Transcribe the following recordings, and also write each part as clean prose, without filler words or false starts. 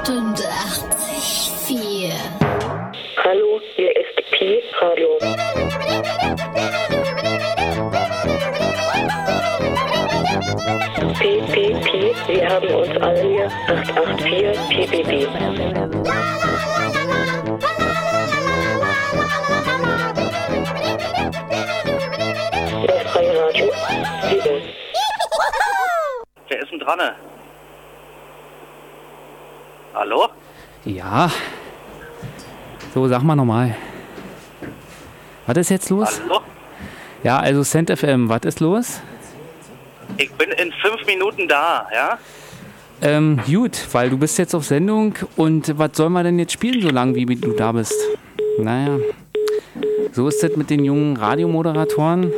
88,4. Hallo, hier ist Pi Radio. Pi, wir haben uns alle hier 884 PBB. Das freie Radio. Wer ist denn dran? Hallo? Ja. So, sag mal nochmal. Was ist jetzt los? Hallo? Ja, also Cent FM, was ist los? Ich bin in 5 Minuten da, ja? Gut, weil du bist jetzt auf Sendung und was sollen wir denn jetzt spielen, so lange wie du da bist? Naja, so ist das mit den jungen Radiomoderatoren.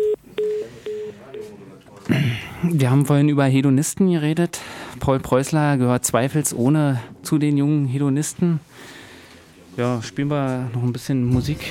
Wir haben vorhin über Hedonisten geredet. Paul Preußler gehört zweifelsohne zu den jungen Hedonisten. Ja, spielen wir noch ein bisschen Musik.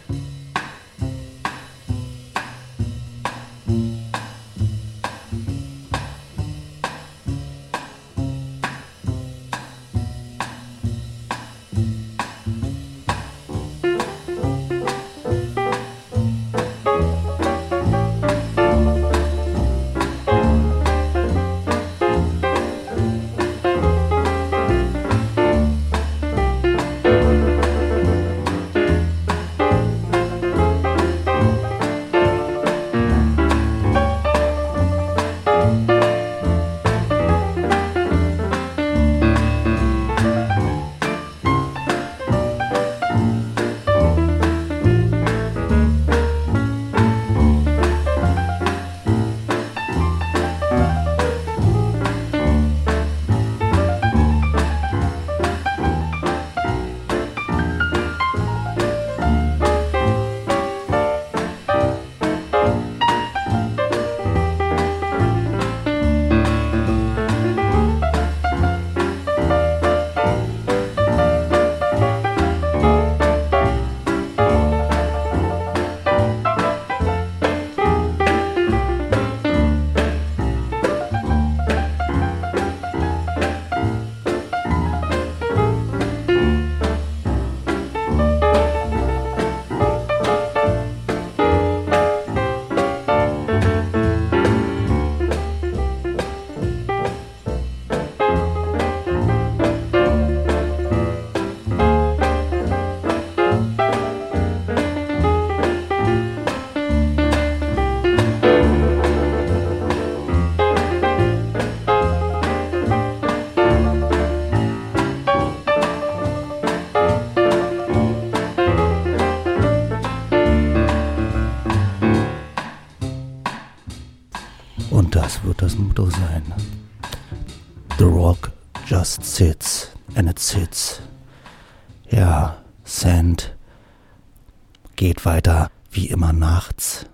Das Motto sein. The rock just sits and it sits. Ja, Sand geht weiter wie immer nachts.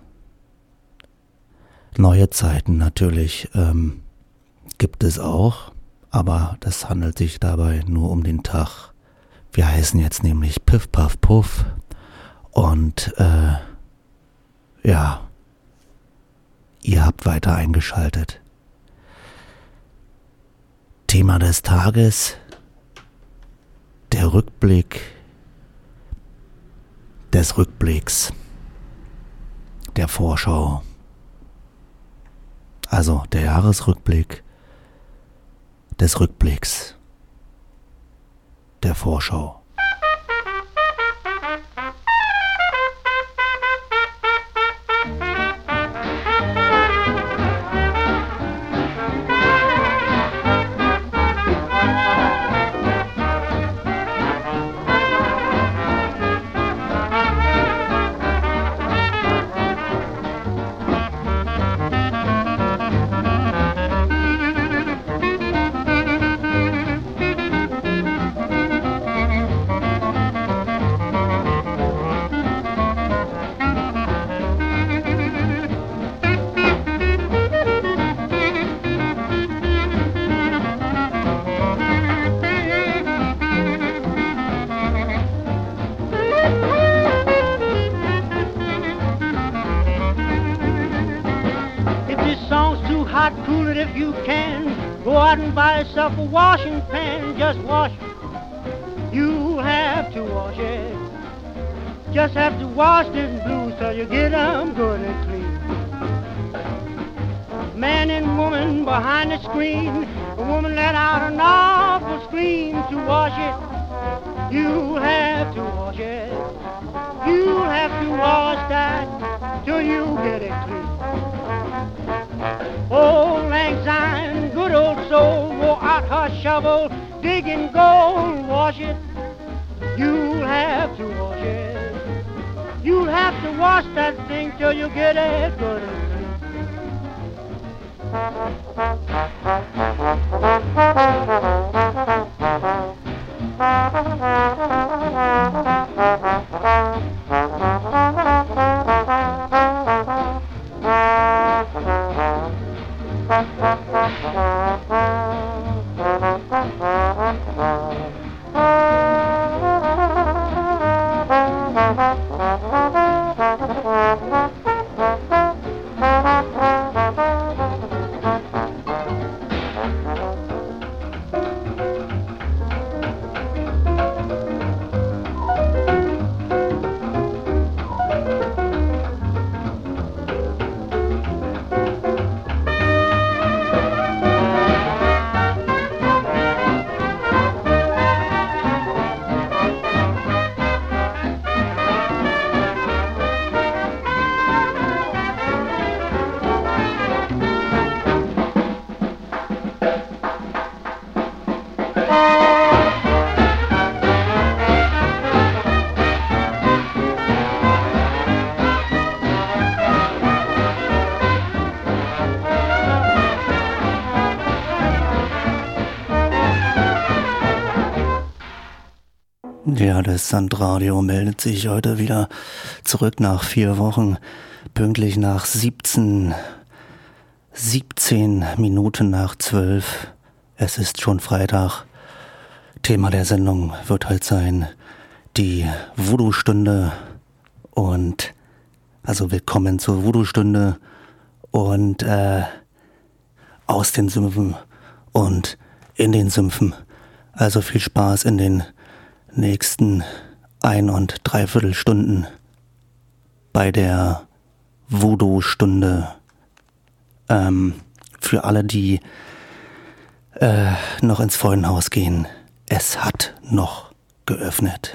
Neue Zeiten natürlich gibt es auch, aber das handelt sich dabei nur um den Tag. Wir heißen jetzt nämlich Piff Puff Puff und ja, ihr habt weiter eingeschaltet. Thema des Tages, der Rückblick des Rückblicks, der Vorschau. Also der Jahresrückblick des Rückblicks, der Vorschau. hot, cool it if you can. Go out and buy yourself a washing pan, just wash it. You have to wash it. Just have to wash them blues till you get them good and clean. Man and woman behind the screen, a woman let out an awful scream to wash it. You have to wash it. You have to wash that till you get it clean. Old Lang Syne, good old soul, wore out her shovel, digging gold, wash it. You'll have to wash it. You'll have to wash that thing till you get it good and clean. Ja, das Sandradio meldet sich heute wieder zurück nach 4 Wochen, pünktlich nach 17 Minuten nach 12. Es ist schon Freitag. Thema der Sendung wird halt sein, die Voodoo-Stunde und, also willkommen zur Voodoo-Stunde und aus den Sümpfen und in den Sümpfen. Also viel Spaß in den nächsten 1 und 3/4 Stunden bei der Voodoo-Stunde. Für alle, die noch ins Freudenhaus gehen, es hat noch geöffnet.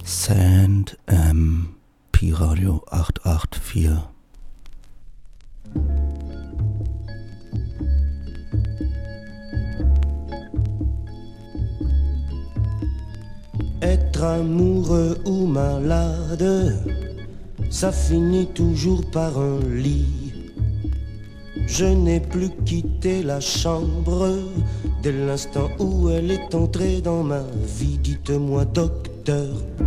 Sand Pi Radio 884. Être amoureux ou malade, ça finit toujours par un lit. Je n'ai plus quitté la chambre dès l'instant où elle est entrée dans ma vie. Dites-moi, docteur,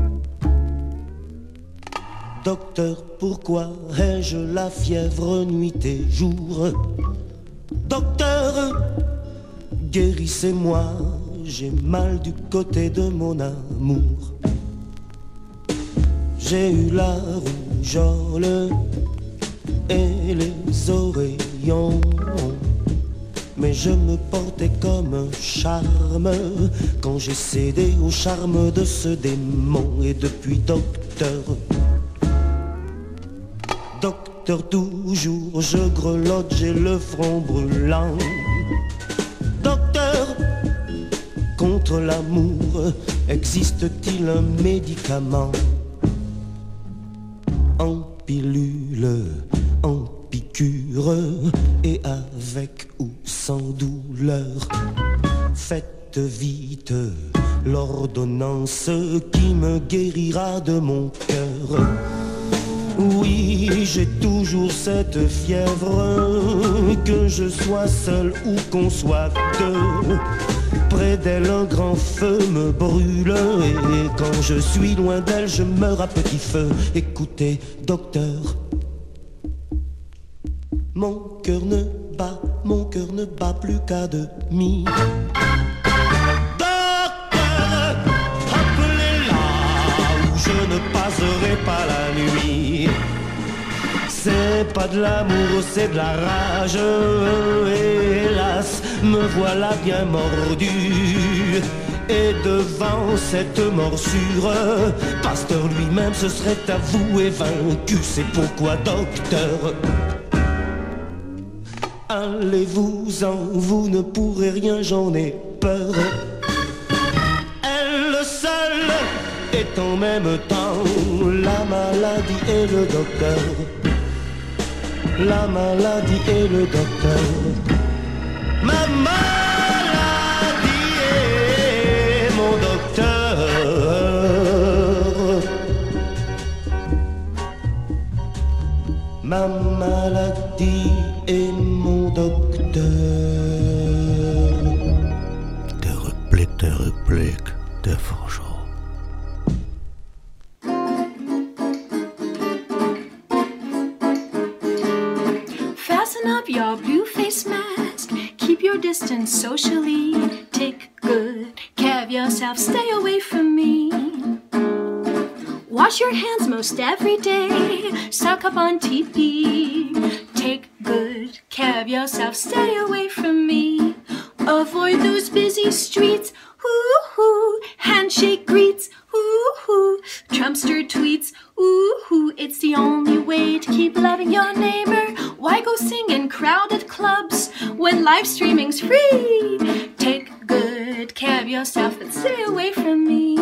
docteur, pourquoi ai-je la fièvre nuit et jour? Docteur, guérissez-moi, j'ai mal du côté de mon amour. J'ai eu la rougeole et les oreillons, mais je me portais comme un charme quand j'ai cédé au charme de ce démon. Et depuis, docteur, docteur, toujours je grelotte, j'ai le front brûlant. Docteur, contre l'amour, existe-t-il un médicament? En pilule, en piqûre, et avec ou sans douleur. Faites vite l'ordonnance qui me guérira de mon cœur. Oui, j'ai toujours cette fièvre, que je sois seul ou qu'on soit deux. Près d'elle un grand feu me brûle, et quand je suis loin d'elle je meurs à petit feu. Écoutez, docteur, mon cœur ne bat plus qu'à demi. Docteur, appelez-la ou je ne passerai pas la nuit. C'est pas de l'amour, c'est de la rage. Hélas, me voilà bien mordu. Et devant cette morsure, Pasteur lui-même se serait avoué vaincu. C'est pourquoi, docteur, allez-vous-en, vous ne pourrez rien, j'en ai peur. Elle seule est en même temps la maladie et le docteur. La maladie et le docteur. Ma maladie est mon docteur. Ma maladie est mon docteur. Der Rückblick der Vorschau. Up your blue face mask, keep your distance socially, take good care of yourself, stay away from me. Wash your hands most every day, stock up on TP, take good care of yourself, stay away from me. Avoid those busy streets, hoo-hoo, handshake greets, hoo-hoo, Trumpster tweets, ooh-hoo, it's the only way to keep loving your neighbor. Why go sing in crowded clubs when live streaming's free? Take good care of yourself and stay away from me.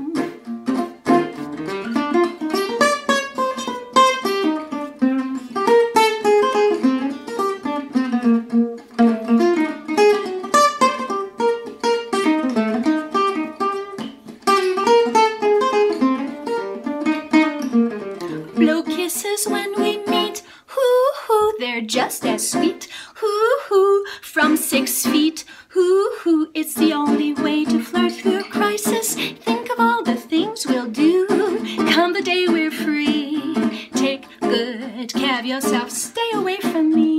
Blow kisses when we meet, hoo-hoo, they're just as sweet, hoo-hoo, from 6 feet, hoo-hoo, it's the only way to flirt through a crisis. Think of all the things we'll do, come the day we're free. Take good care of yourself, stay away from me.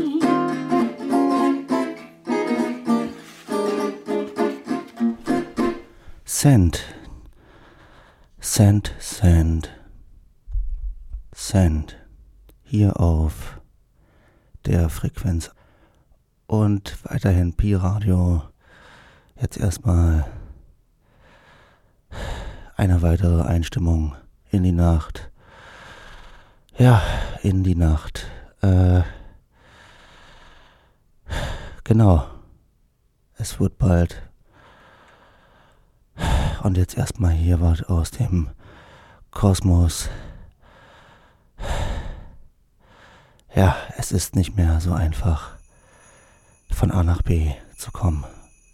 Sand. Hier auf der Frequenz. Und weiterhin Pi Radio. Jetzt erstmal eine weitere Einstimmung in die Nacht. Ja, in die Nacht. Genau. Es wird bald. Und jetzt erstmal hier was aus dem Kosmos. Ja, es ist nicht mehr so einfach, von A nach B zu kommen.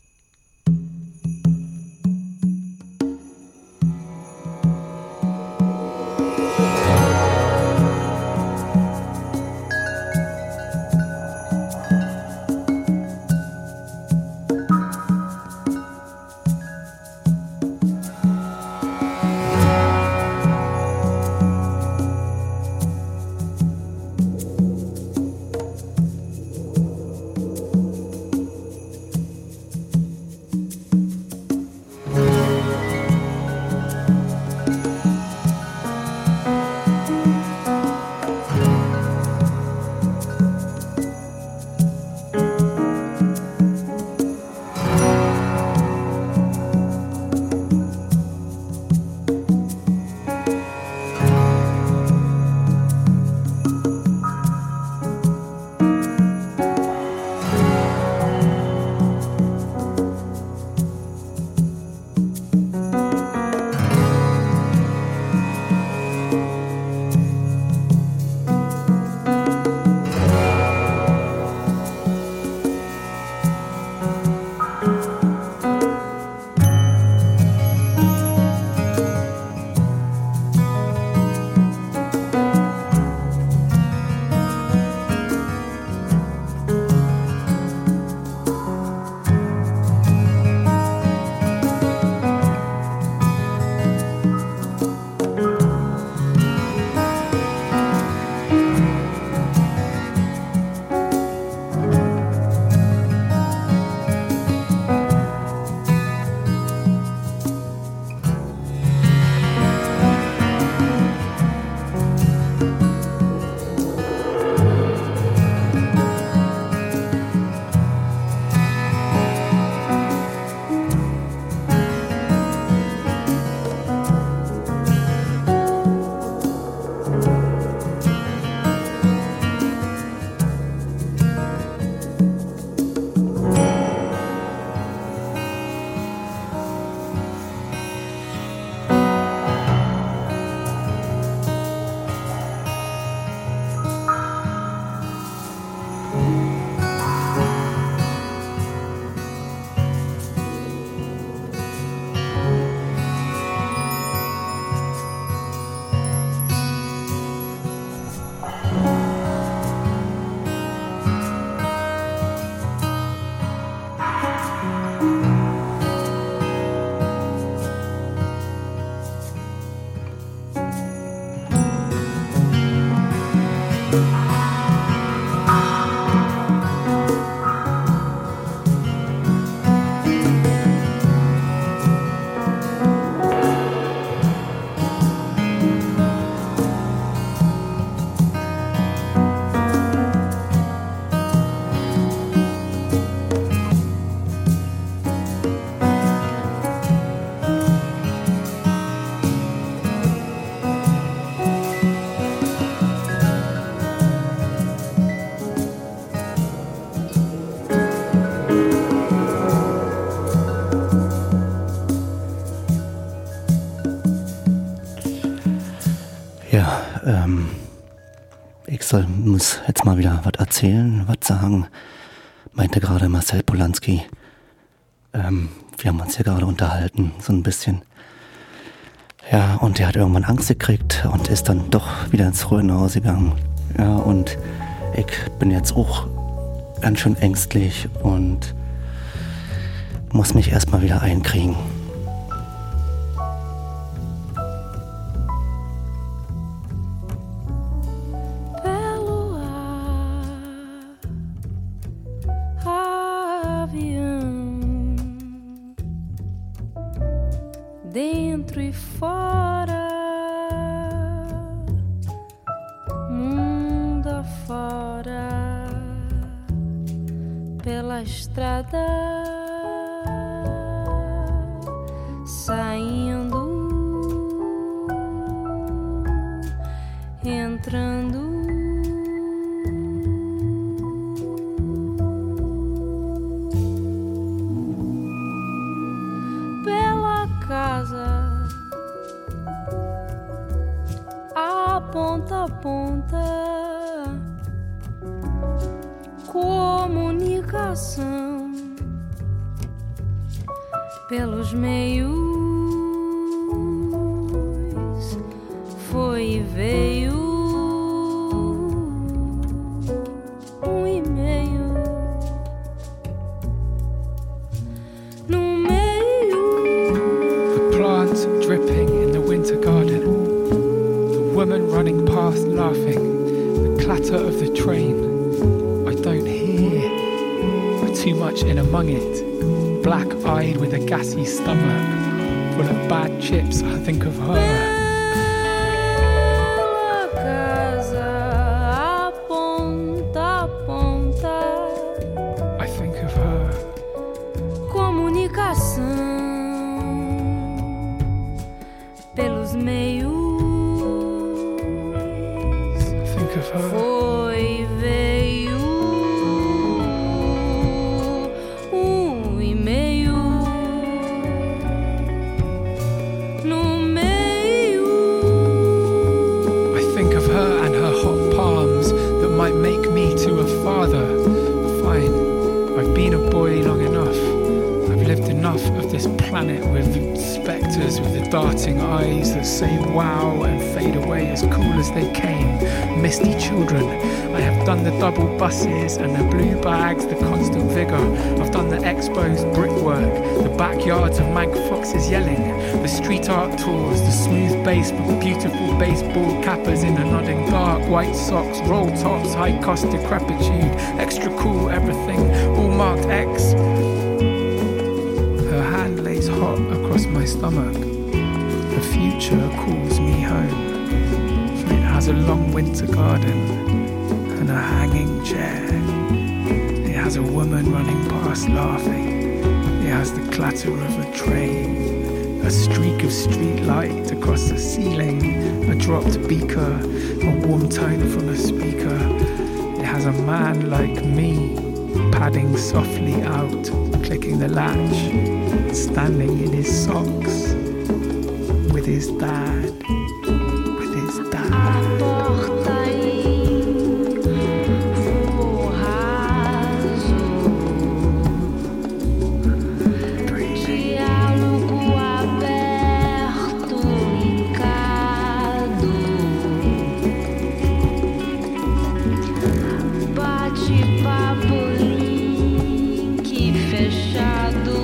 Muss jetzt mal wieder was erzählen, was sagen, meinte gerade Marcel Polanski. Wir haben uns hier gerade unterhalten, so ein bisschen. Ja, und er hat irgendwann Angst gekriegt und ist dann doch wieder ins Frauenhaus gegangen. Ja, und ich bin jetzt auch ganz schön ängstlich und muss mich erstmal wieder einkriegen. Dentro e fora, mundo afora, pela estrada, saindo, entrando. Pela casa, ponta a ponta. Comunicação pelos meios foi e veio e-mail no meio. The plants dripping in the winter garden, the woman running past laughing, the clatter of the train I don't hear, I'm too much in among it. Black-eyed with a gassy stomach, full of bad chips, I think of her. Bela casa a ponta a ponta. I think of her. Comunicação pelos meios. I think of her. Foi e veio e-mail no meio. I think of her and her hot palms that might make me to a father. Fine, I've been a boy long enough. I've lived enough of this planet with spectres with the darting eyes that say wow and fade away as cool as they came. Misty children. I have done the double buses and the blue bags, the constant vigour. I've done the exposed brickwork, the backyards of Mank Foxes yelling, the street art tours, the smooth bass with beautiful baseball cappers in the nodding dark, white socks, roll tops, high cost decrepitude, extra cool everything, all marked X. Her hand lays hot across my stomach. The future calls me home. It has a long winter garden and a hanging chair. It has a woman running past laughing. It has the clatter of a train, a streak of street light across the ceiling, a dropped beaker, a warm tone from a speaker. It has a man like me padding softly out, clicking the latch, standing in his socks with his dad. A porta em voo raso, diálogo aberto e cado, bate-papo, link fechado.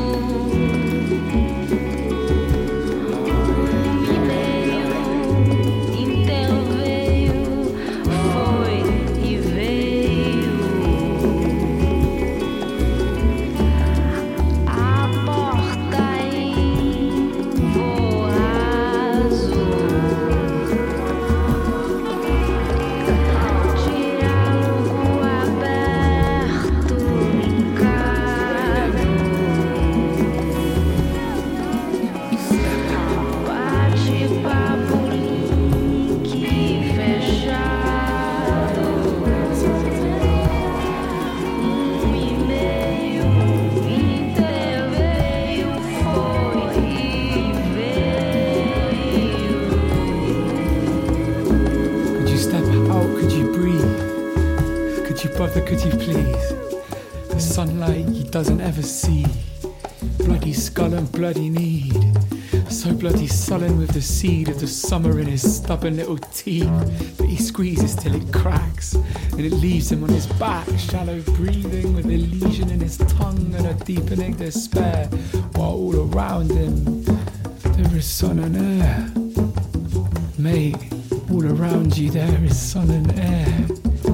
Could you please? The sunlight he doesn't ever see. Bloody skull and bloody need. So bloody sullen with the seed of the summer in his stubborn little teeth that he squeezes till it cracks and it leaves him on his back, shallow breathing with a lesion in his tongue and a deepening despair, while all around him there is sun and air. Mate, all around you there is sun and air.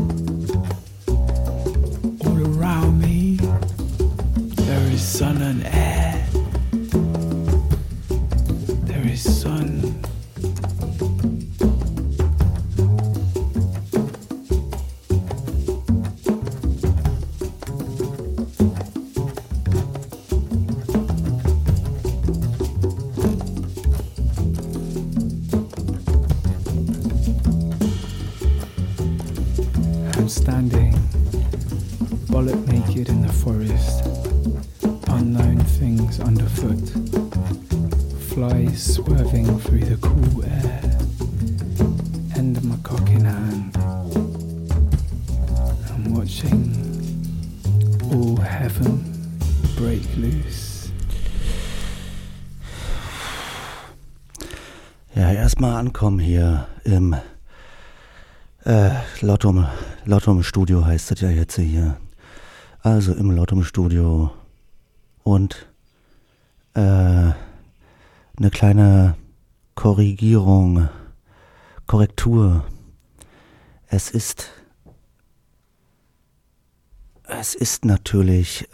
Around me, there is sun and air. There is sun. I'm standing bollock naked in the forest, unknown things underfoot, flies swerving through the cool air, end my cock in hand. I'm watching all heaven break loose. Ja, erstmal ankommen hier im Lottum Studio heißt das ja jetzt hier. Also im Lottum Studio und eine kleine Korrektur. Es ist natürlich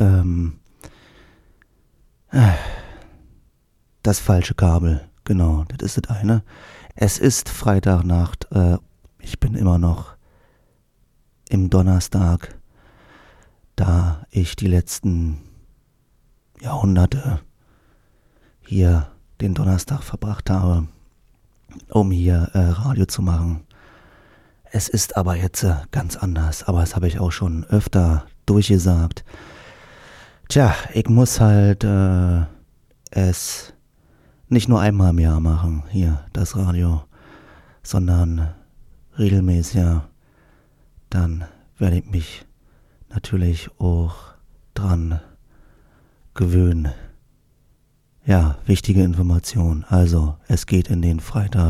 das falsche Kabel. Genau, das ist das eine. Es ist Freitagnacht. Ich bin immer noch im Donnerstag, da ich die letzten Jahrhunderte hier den Donnerstag verbracht habe, um hier Radio zu machen. Es ist aber jetzt ganz anders, aber das habe ich auch schon öfter durchgesagt. Tja, ich muss halt es nicht nur einmal im Jahr machen, hier das Radio, sondern regelmäßiger. Dann werde ich mich natürlich auch dran gewöhnen. Ja, wichtige Information. Also, es geht in den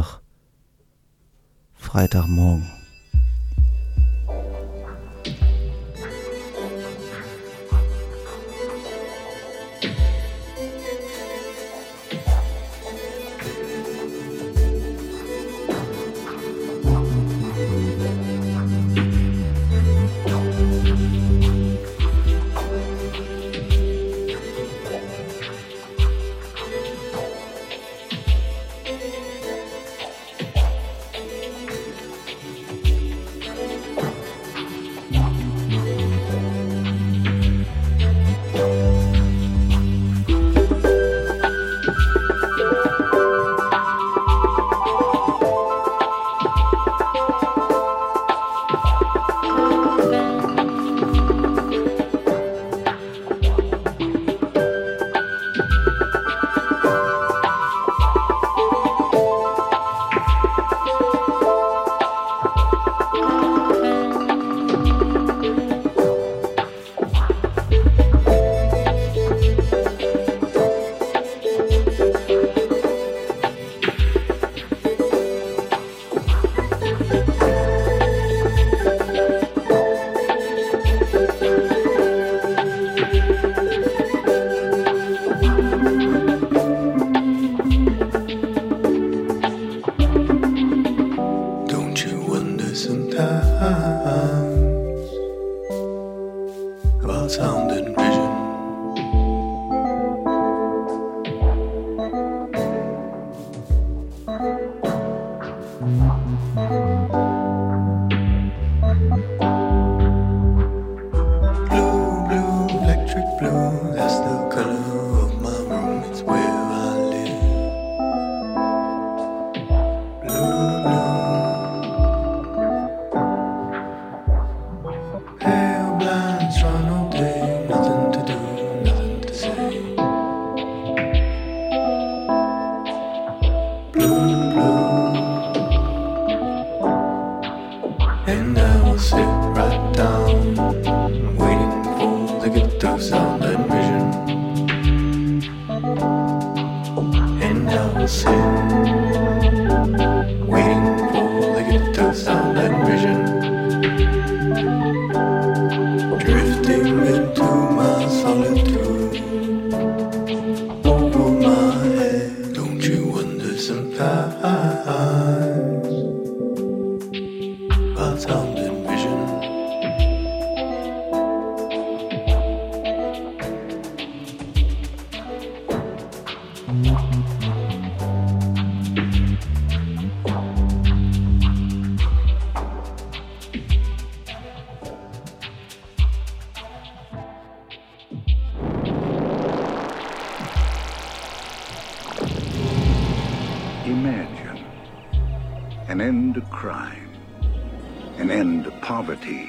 Freitagmorgen. Imagine an end to crime, an end to poverty.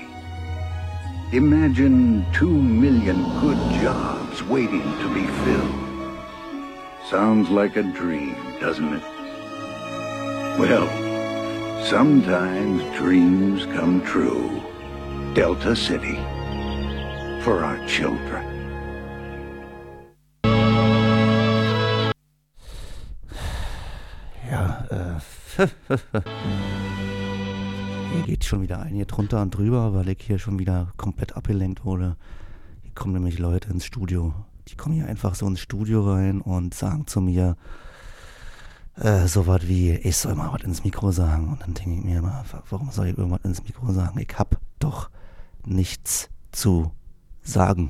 Imagine 2 million good jobs waiting to be filled. Sounds like a dream, doesn't it? Well, Sometimes dreams come true. Delta City. For our children. Ja, hier geht schon wieder ein hier drunter und drüber, weil ich hier schon wieder komplett abgelenkt wurde. Hier kommen nämlich Leute ins Studio. Die kommen hier einfach so ins Studio rein und sagen zu mir so was wie, ich soll mal was ins Mikro sagen. Und dann denke ich mir immer, warum soll ich irgendwas ins Mikro sagen? Ich hab doch nichts zu sagen.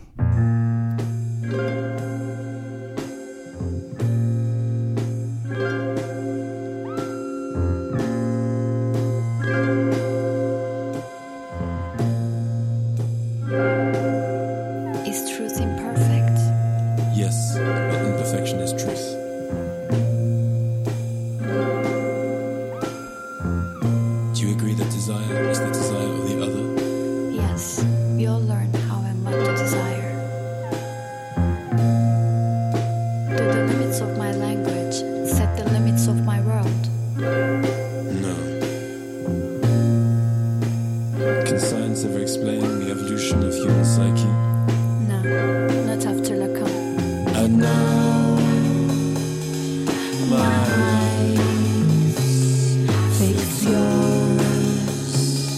Is truth imperfect? Yes, but imperfection is truth. Do you agree that desire is the desire of the other? Yes, we all learn how and what to desire. Do the limits of my language set the limits of my world? No. Can science ever explain the evolution of human psyche? No, not after Lacan. And now, my eyes fix yours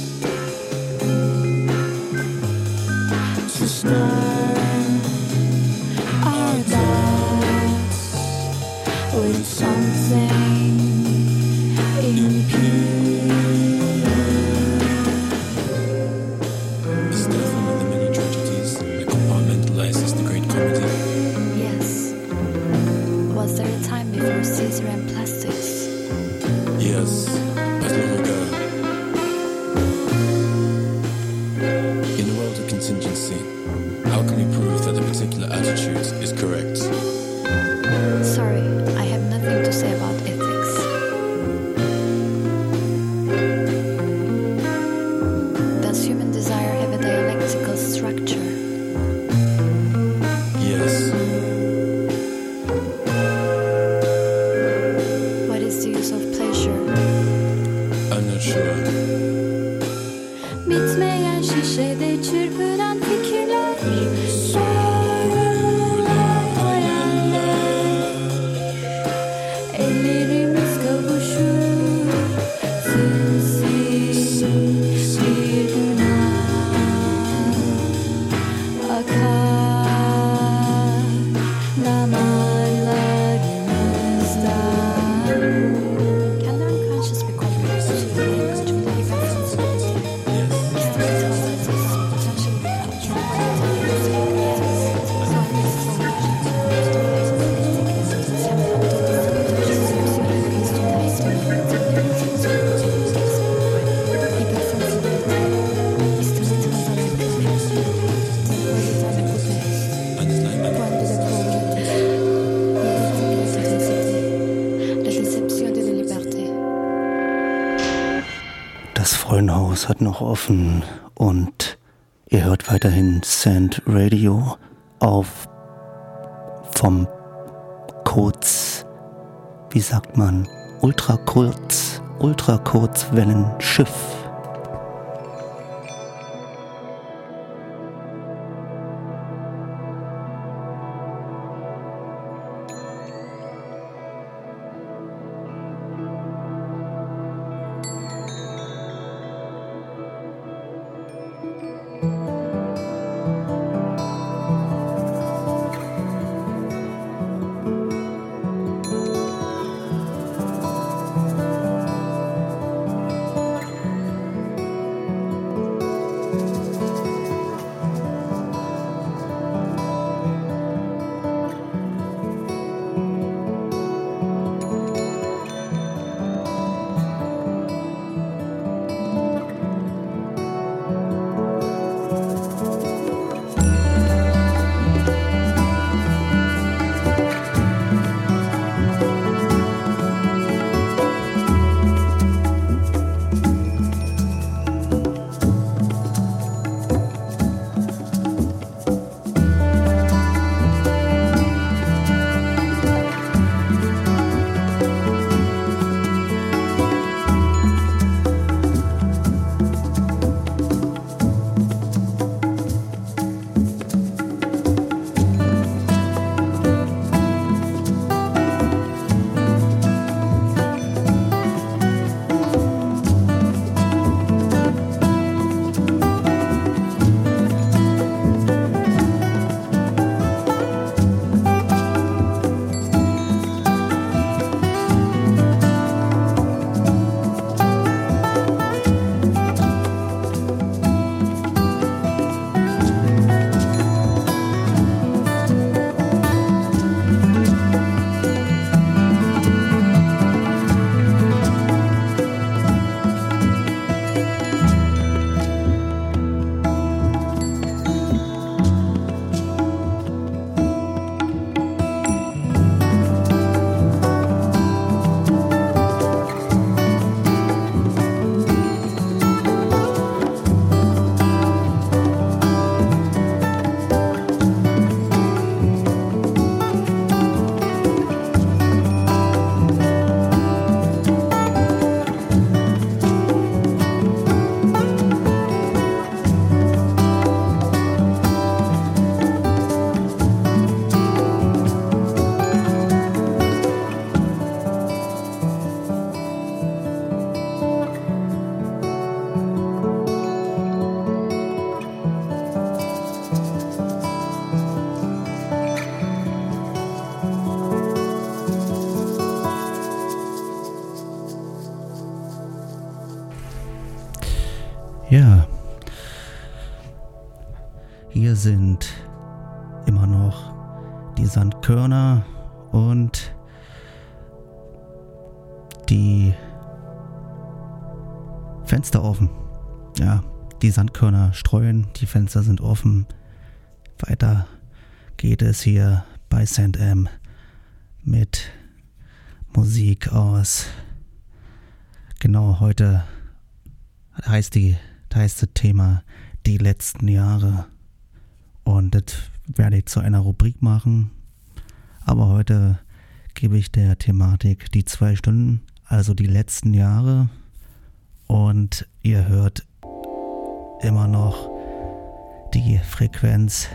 to start our doubts with something impure. Is death one of the many tragedies that compartmentalizes the great comedy? Yes. Was there a time before Caesar and plastics? Yes, but long ago. In a world of contingency, how can we prove that a particular attitude is correct? Sorry, I have nothing to say about ethics. Does human desire have a dialectical structure? Yes. What is the use of pleasure? I'm not sure. Bitmeyen şişede çırpınan fikirler, sorular, hayaller. Ellerimiz kavuşur, sinsi bir günah akar damarlarımızdan. Can the unconscious be comprehended to the language with Das Frauenhaus hat noch offen und ihr hört weiterhin Sand Radio auf vom wie sagt man, Ultrakurzwellenschiff. Ja, hier sind immer noch die Sandkörner und die Fenster offen. Ja, die Sandkörner streuen, die Fenster sind offen. Weiter geht es hier bei St. M mit Musik aus. Genau, heute heißt das Thema die letzten Jahre. Und das werde ich zu einer Rubrik machen. Aber heute gebe ich der Thematik die 2 Stunden, also die letzten Jahre. Und ihr hört immer noch die Frequenz.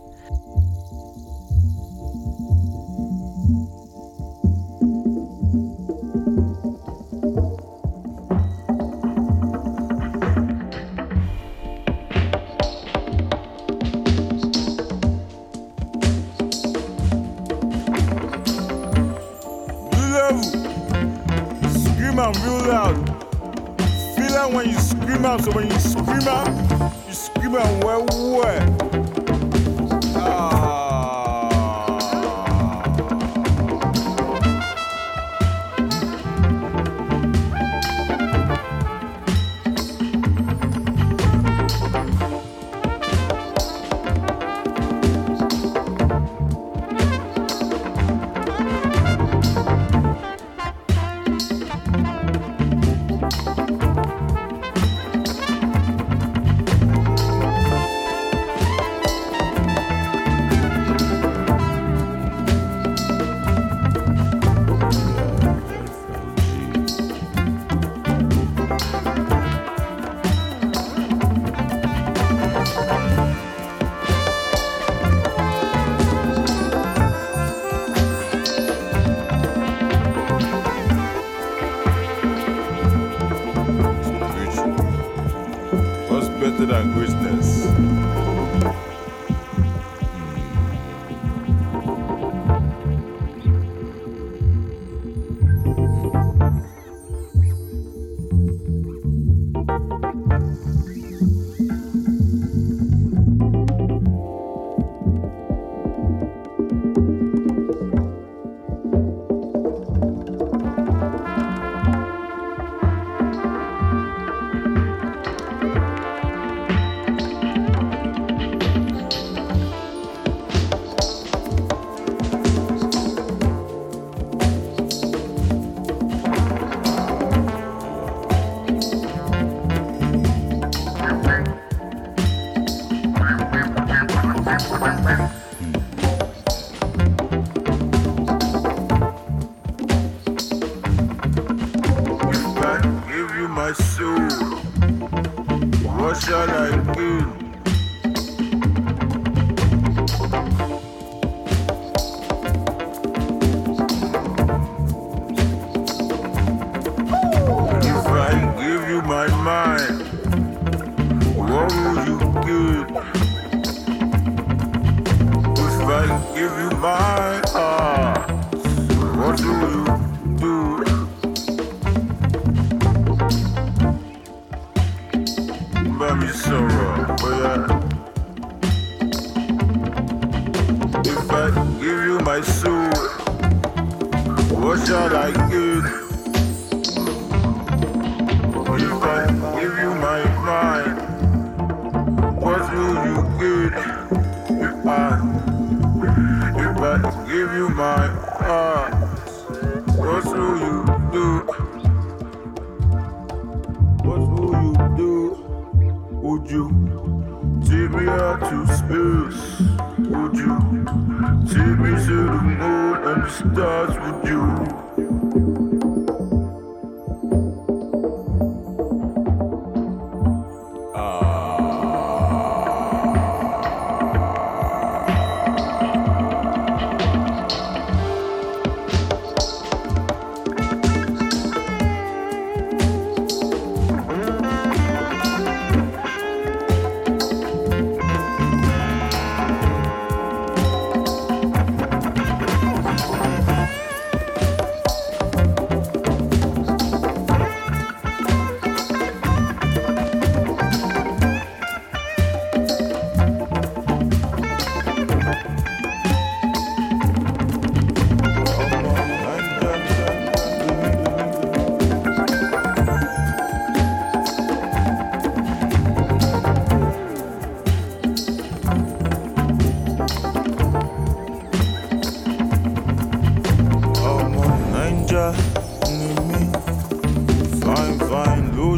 Real loud. Feel that when you scream out, so when you scream out well. Than greatness.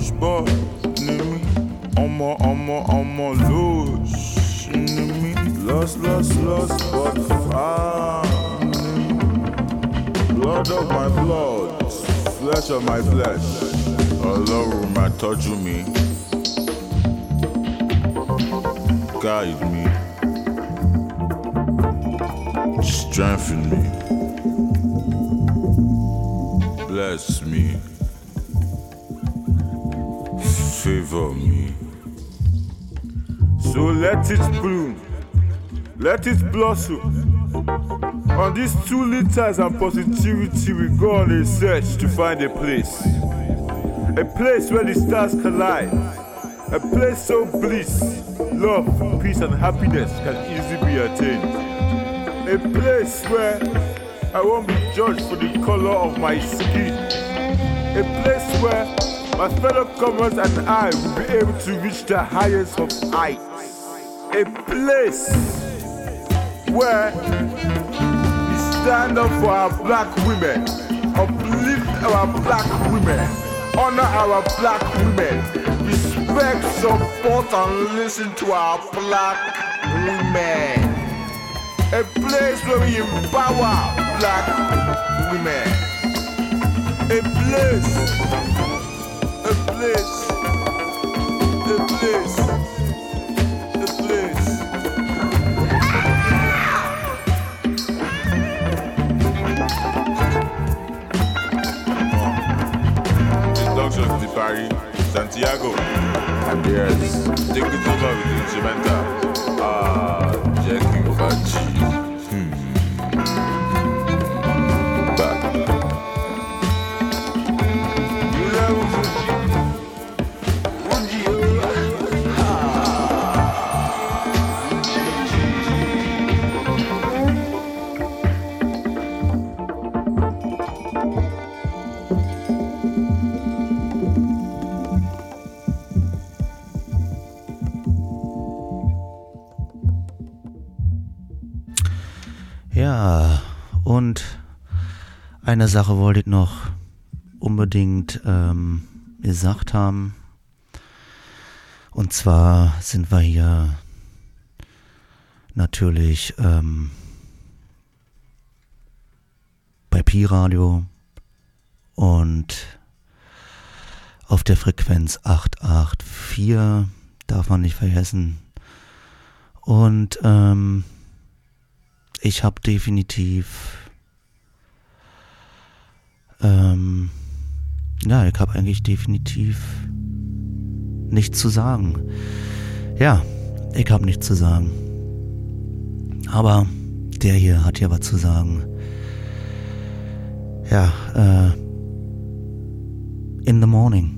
push bar, me. I'm a lose, me. Lost, but found. Blood of my blood, flesh of my flesh. Alone, my touch me. Guide me. Strengthen me. Bless me. Favor me. So let it bloom. Let it blossom. On these 2 liters and positivity, we go on a search to find a place. A place where the stars collide. A place so bliss, love, peace and happiness can easily be attained. A place where I won't be judged for the color of my skin. A place where my fellow comrades and I will be able to reach the highest of heights. A place where we stand up for our black women, uplift our black women, honor our black women, respect, support and listen to our black women. A place where we empower black women. A place. Introduction to Paris, Santiago, and yes, take it over with the instrumental. Jackie Fachi. Ja, und eine Sache wollte ich noch unbedingt gesagt haben. Und zwar sind wir hier natürlich bei Pi-Radio und auf der Frequenz 884, darf man nicht vergessen. Und ich habe definitiv, ich habe eigentlich definitiv nichts zu sagen. Ja, ich habe nichts zu sagen. Aber der hier hat ja was zu sagen. Ja, in the morning.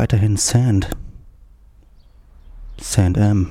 weiterhin Sand. Sand M.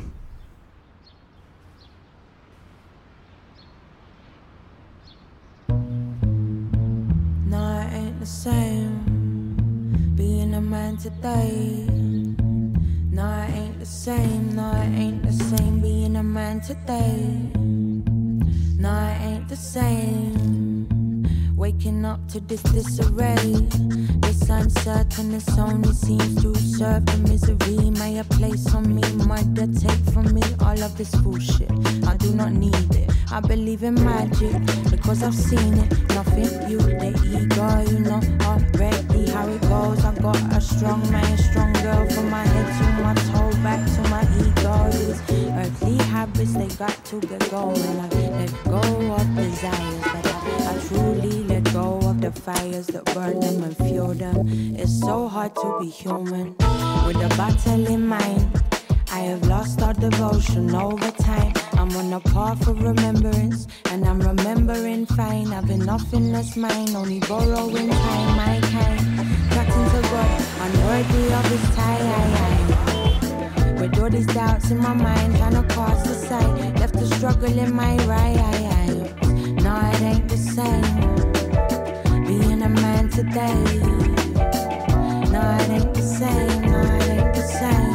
No, it ain't the same being a man today. No, it ain't the same. No, it ain't the same being a man today. No, it ain't the same. Waking up to this disarray. This uncertainness only seems to serve the misery. May a place on me, mother, take from me all of this bullshit. I do not need it. I believe in magic because I've seen it. Nothing you, the ego, you know already how it goes. I got a strong man, strong girl from my head to my toe, back to my ego. These earthly habits, they got to get going. I let go of desires that I truly let go of the fires that burn them and fuel them. It's so hard to be human with a battle in mind. I have lost all devotion over time. I'm on a path of remembrance, and I'm remembering fine. Having nothing that's mine, only borrowing time, my kind. Cutting to God, unworthy of his time. With all these doubts in my mind, trying to cast aside. Left to struggle in my right. No, it ain't the same being a man today. No, it ain't the same. No, it ain't the same.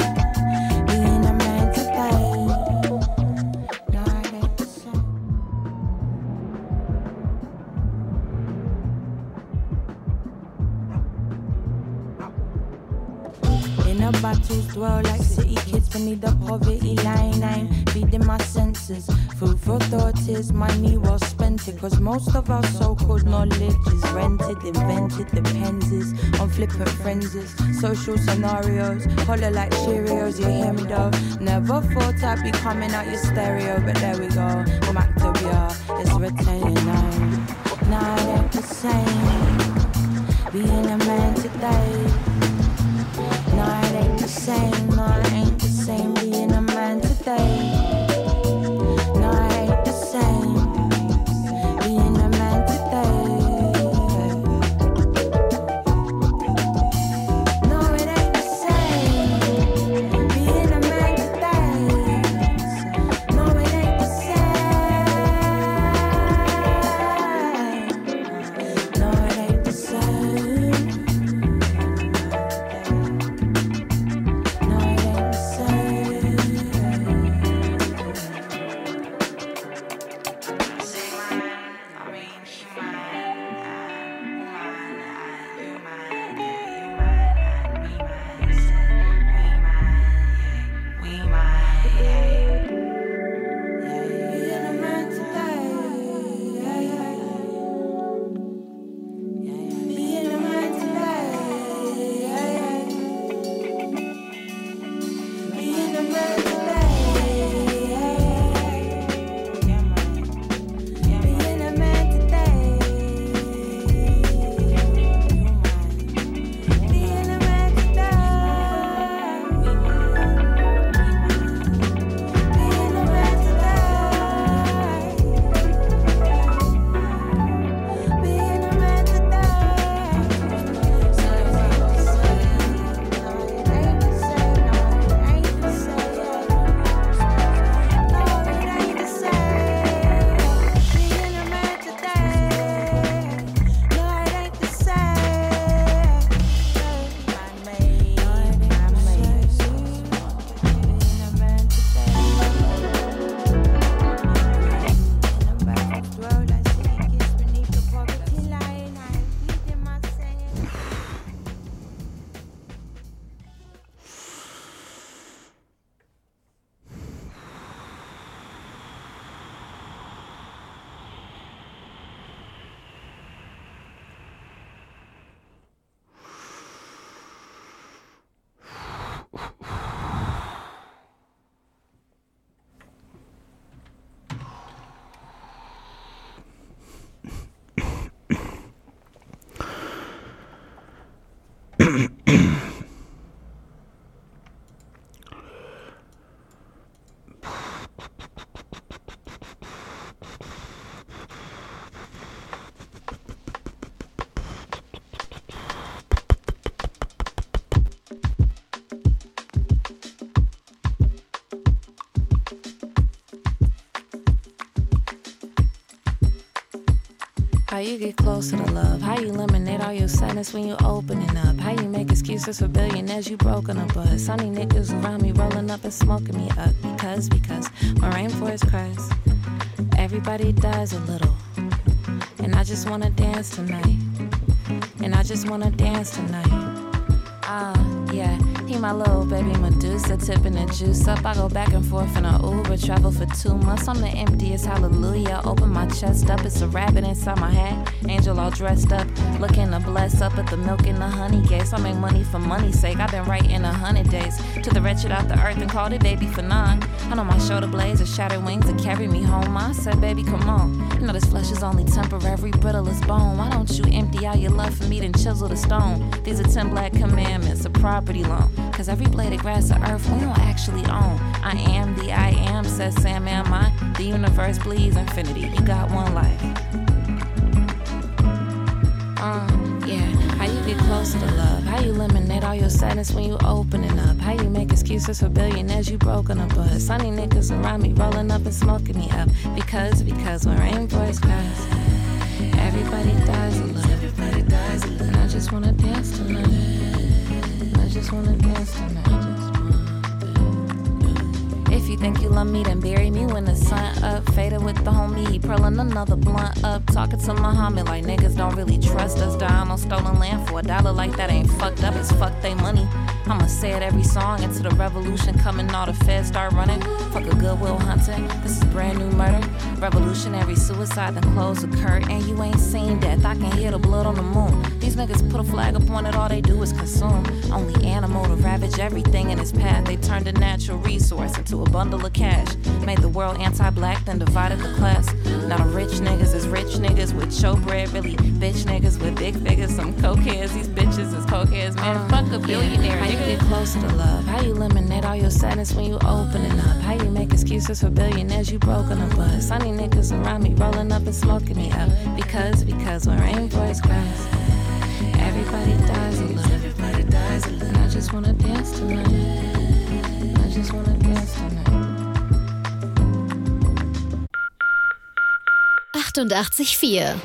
Battles dwell like city kids beneath the poverty line. I'm feeding my senses. Food for thought is money well spent it. Cause most of our so-called knowledge is rented, invented, depends on flippant frenzies. Social scenarios, holler like Cheerios, you hear me though. Never thought I'd be coming out your stereo, but there we go. Mactavia is retaining now. Now it ain't the same being a man today. No, it ain't the same, no, it ain't the same being a man today. No, it ain't the same being a man today. No, it ain't the same being a man today. No, it ain't the same. How you get closer to love? How you eliminate all your sadness when you opening up? How you make excuses for billionaires you broken up buzz? Sunny niggas around me rolling up and smoking me up. Because when rainforest cries, everybody dies a little. And I just wanna dance tonight. And I just wanna dance tonight. Yeah, he my little baby Medusa, tipping the juice up. I go back and forth in a Uber, travel for 2 months. I'm the emptiest hallelujah. Open my chest up, it's a rabbit inside my hat. Angel all dressed up, looking to bless up at the milk and the honey gates. I make money for money's sake. I've been writing 100 days to the wretched out the earth and called it baby for 9. I know my shoulder blades are shattered wings that carry me home. I said, baby, come on. You know this flesh is only temporary, brittle as bone. Why don't you empty out your love for me, then chisel the stone? These are 10 black commandments, a property loan. Cause every blade of grass of earth we don't actually own. I am the I am, says Sam, am I? The universe bleeds infinity. You got one life. Yeah. How you get closer to love? How you eliminate all your sadness when you opening up? How you make excuses for billionaires you broken up buzz? Sunny niggas around me rolling up and smoking me up. Because when rainforest cries, everybody dies a little. Everybody dies a little. And I just wanna dance tonight. I just wanna dance tonight. If you think you love me, then bury me when the sun up. Faded with the homie, he pearling another blunt up. Talking to Muhammad like niggas don't really trust us. Dying on stolen land for $1 like that ain't fucked up. It's fuck they money. I'ma say it every song until the revolution coming, all the feds start running. Fuck a Goodwill Hunting, this is brand new murder. Revolutionary suicide, then close the curtain. You ain't seen death, I can hear the blood on the moon. These niggas put a flag up on it, all they do is consume. Only animal to ravage everything in its path. They turned a natural resource into a bundle of cash. Made the world anti-black, then divided the class. Now the rich niggas is rich niggas with showbread, really bitch niggas with big figures. Some cokeheads, these bitches is cokeheads. Man, fuck a billionaire. How you get closer to love? How you eliminate all your sadness when you opening up? How you make excuses for billionaires you broken up buzz? Sunny niggas around me rolling up and smoking me up. Because when rainforest cries, everybody dies a little. Everybody dies a little. And I just wanna dance tonight. I just wanna dance tonight. 88,4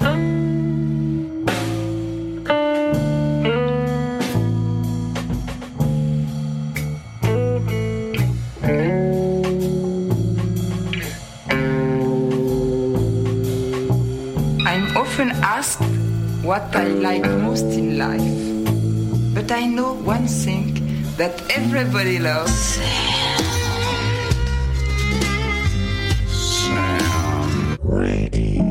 I'm often asked what I like most in life, but I know one thing that everybody loves. Sam Radio.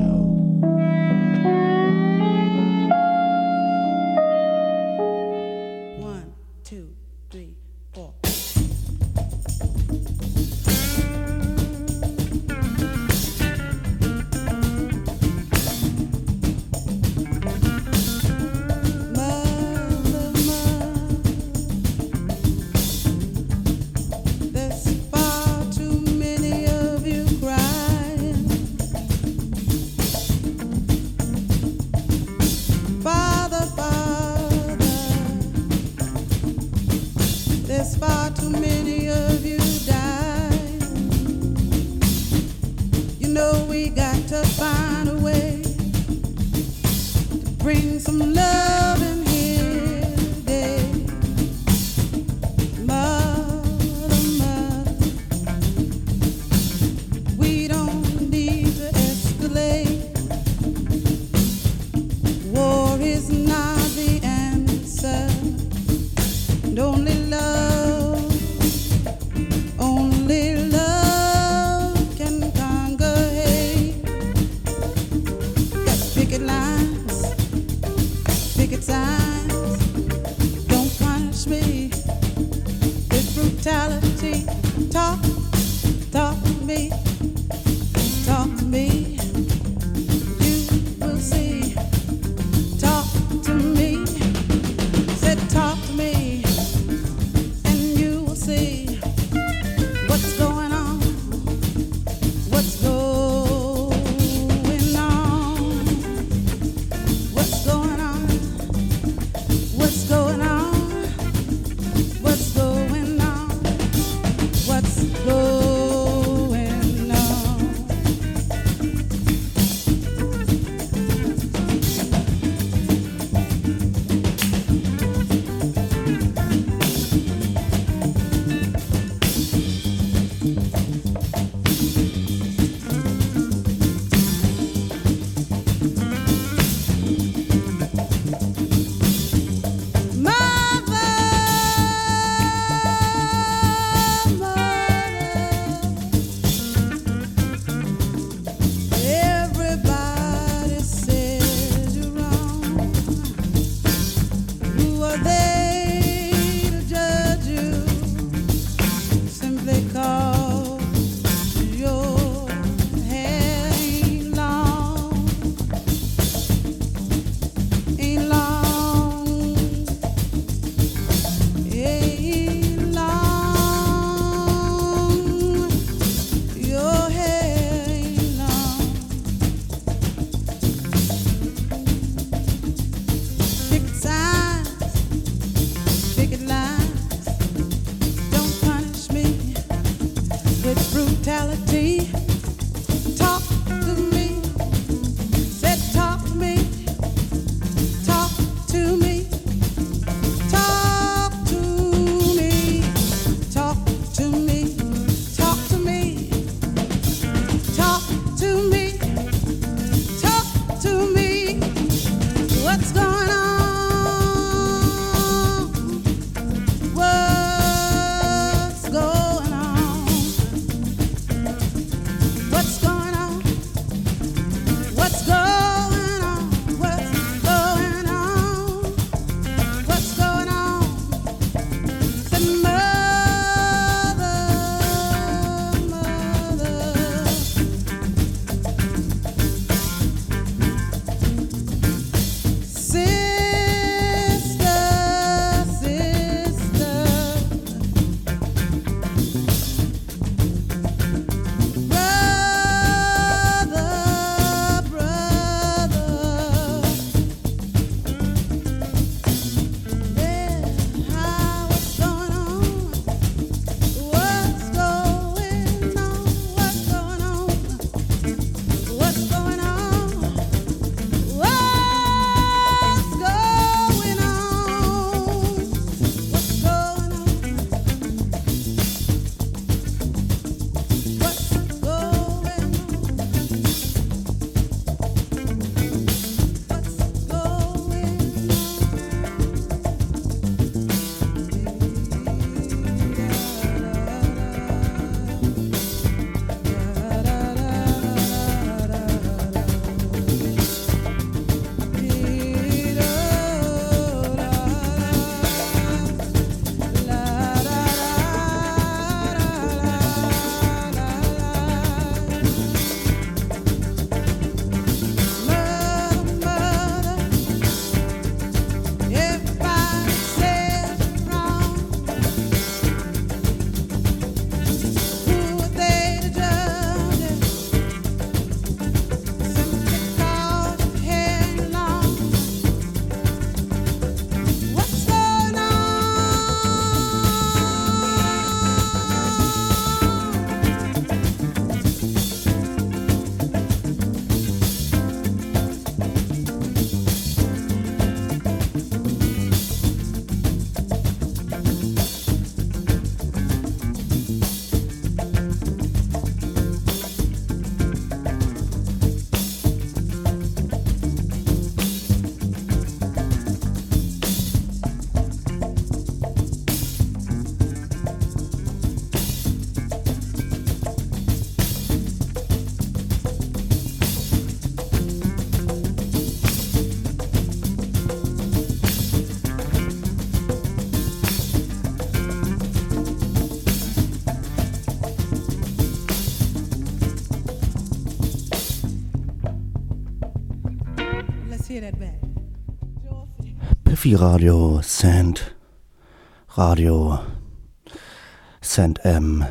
Piffy Radio, Sand Radio, Sand M.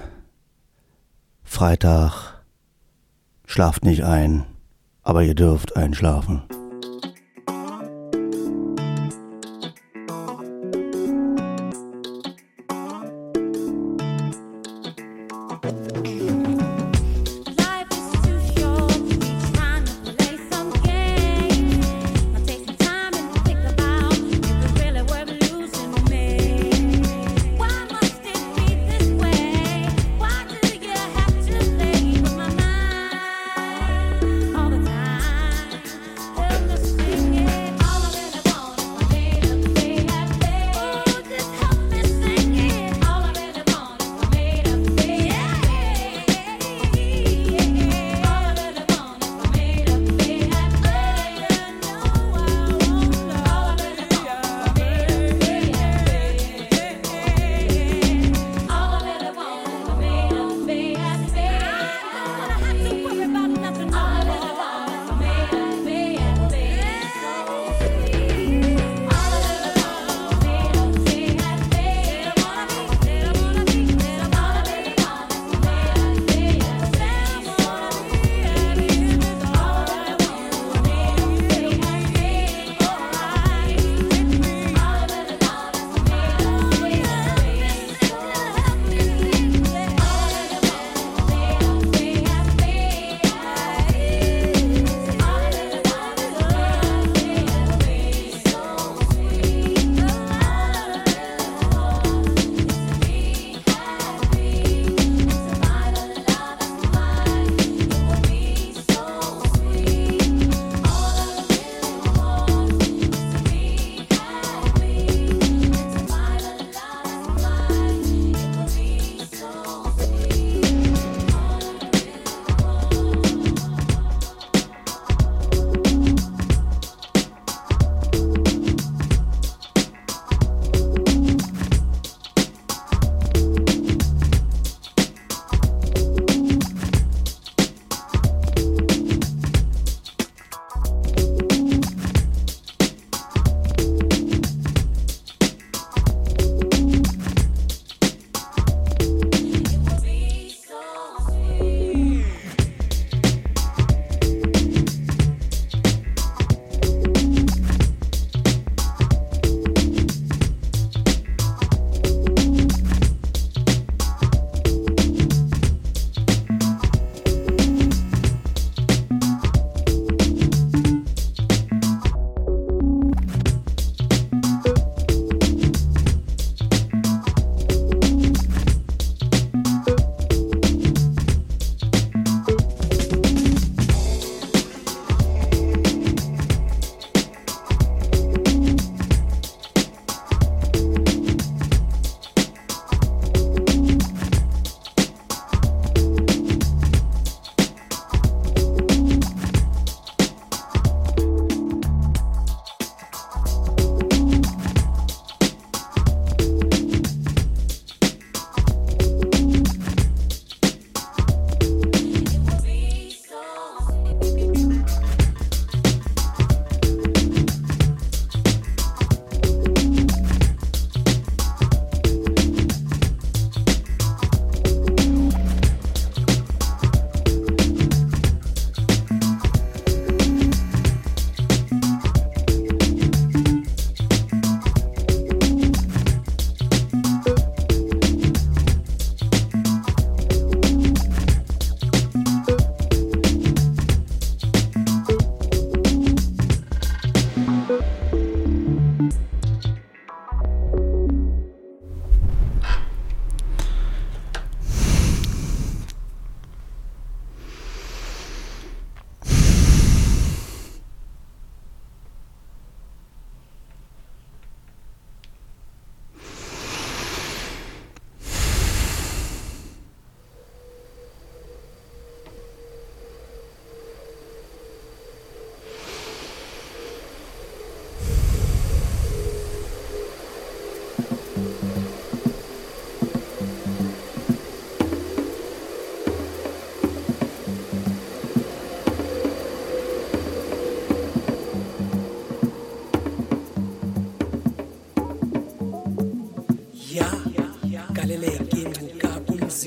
Freitag. Schlaft nicht ein, aber ihr dürft einschlafen.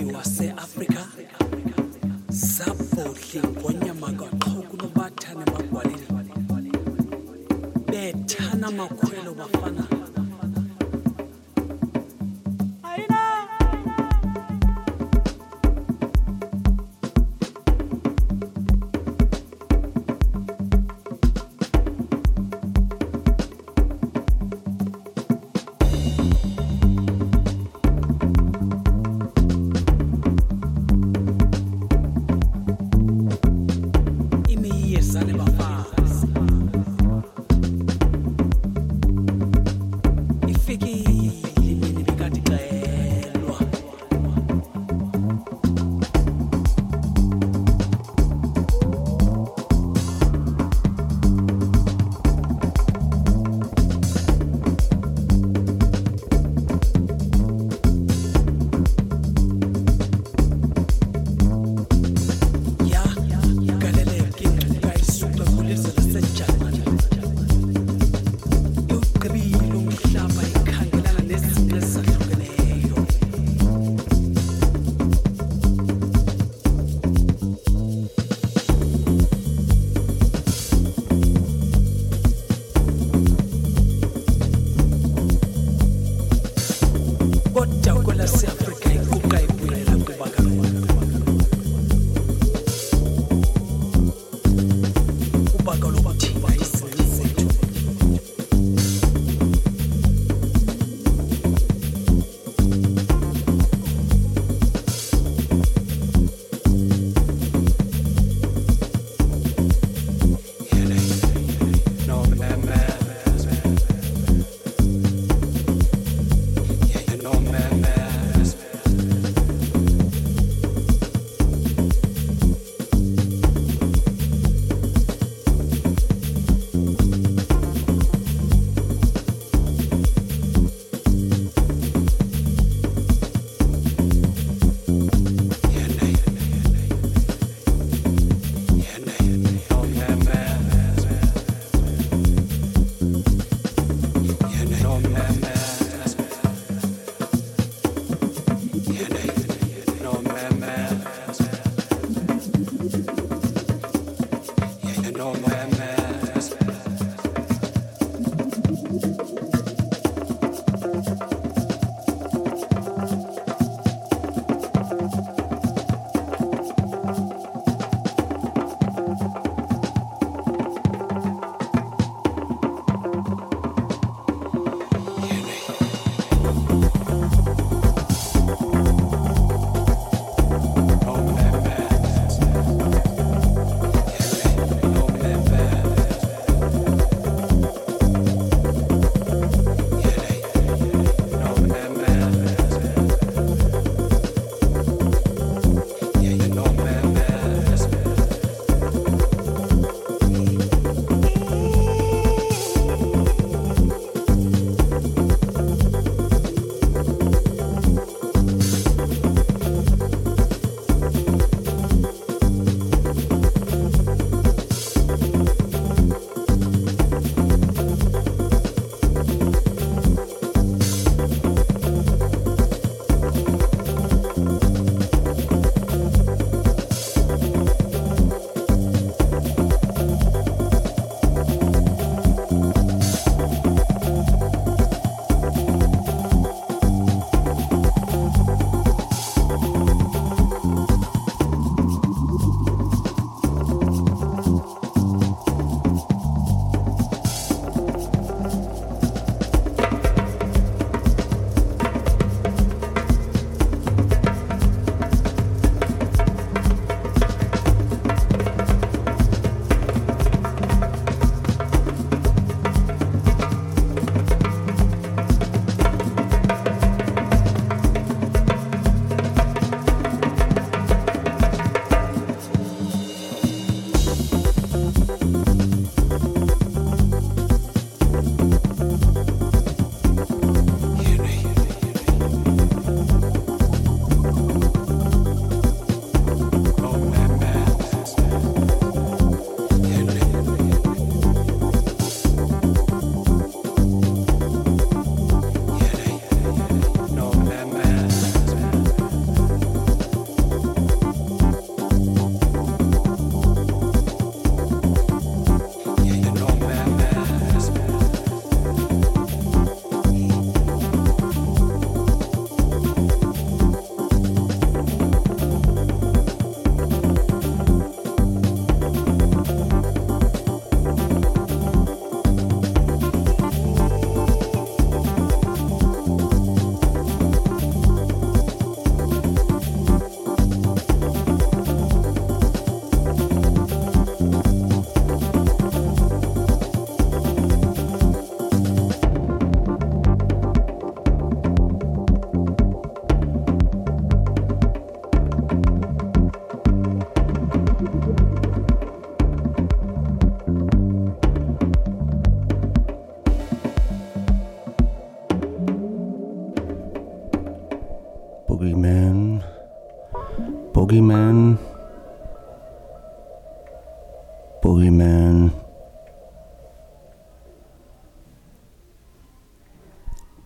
umvelaphi wase-afrika sabhodli ngonyamagaqhoku nobathane magwaleni bethana makhwelo bafana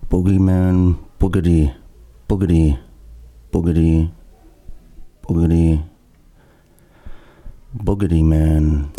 Boogeyman, Boogedy, Boogedy, Boogedy, Boogedy, Boogedy Man.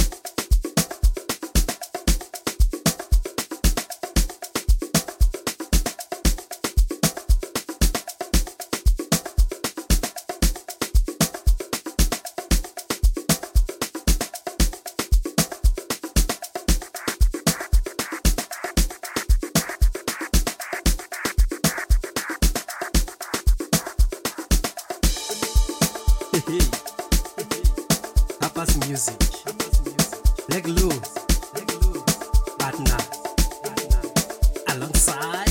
Papa's music. Leg Lou, partner, alongside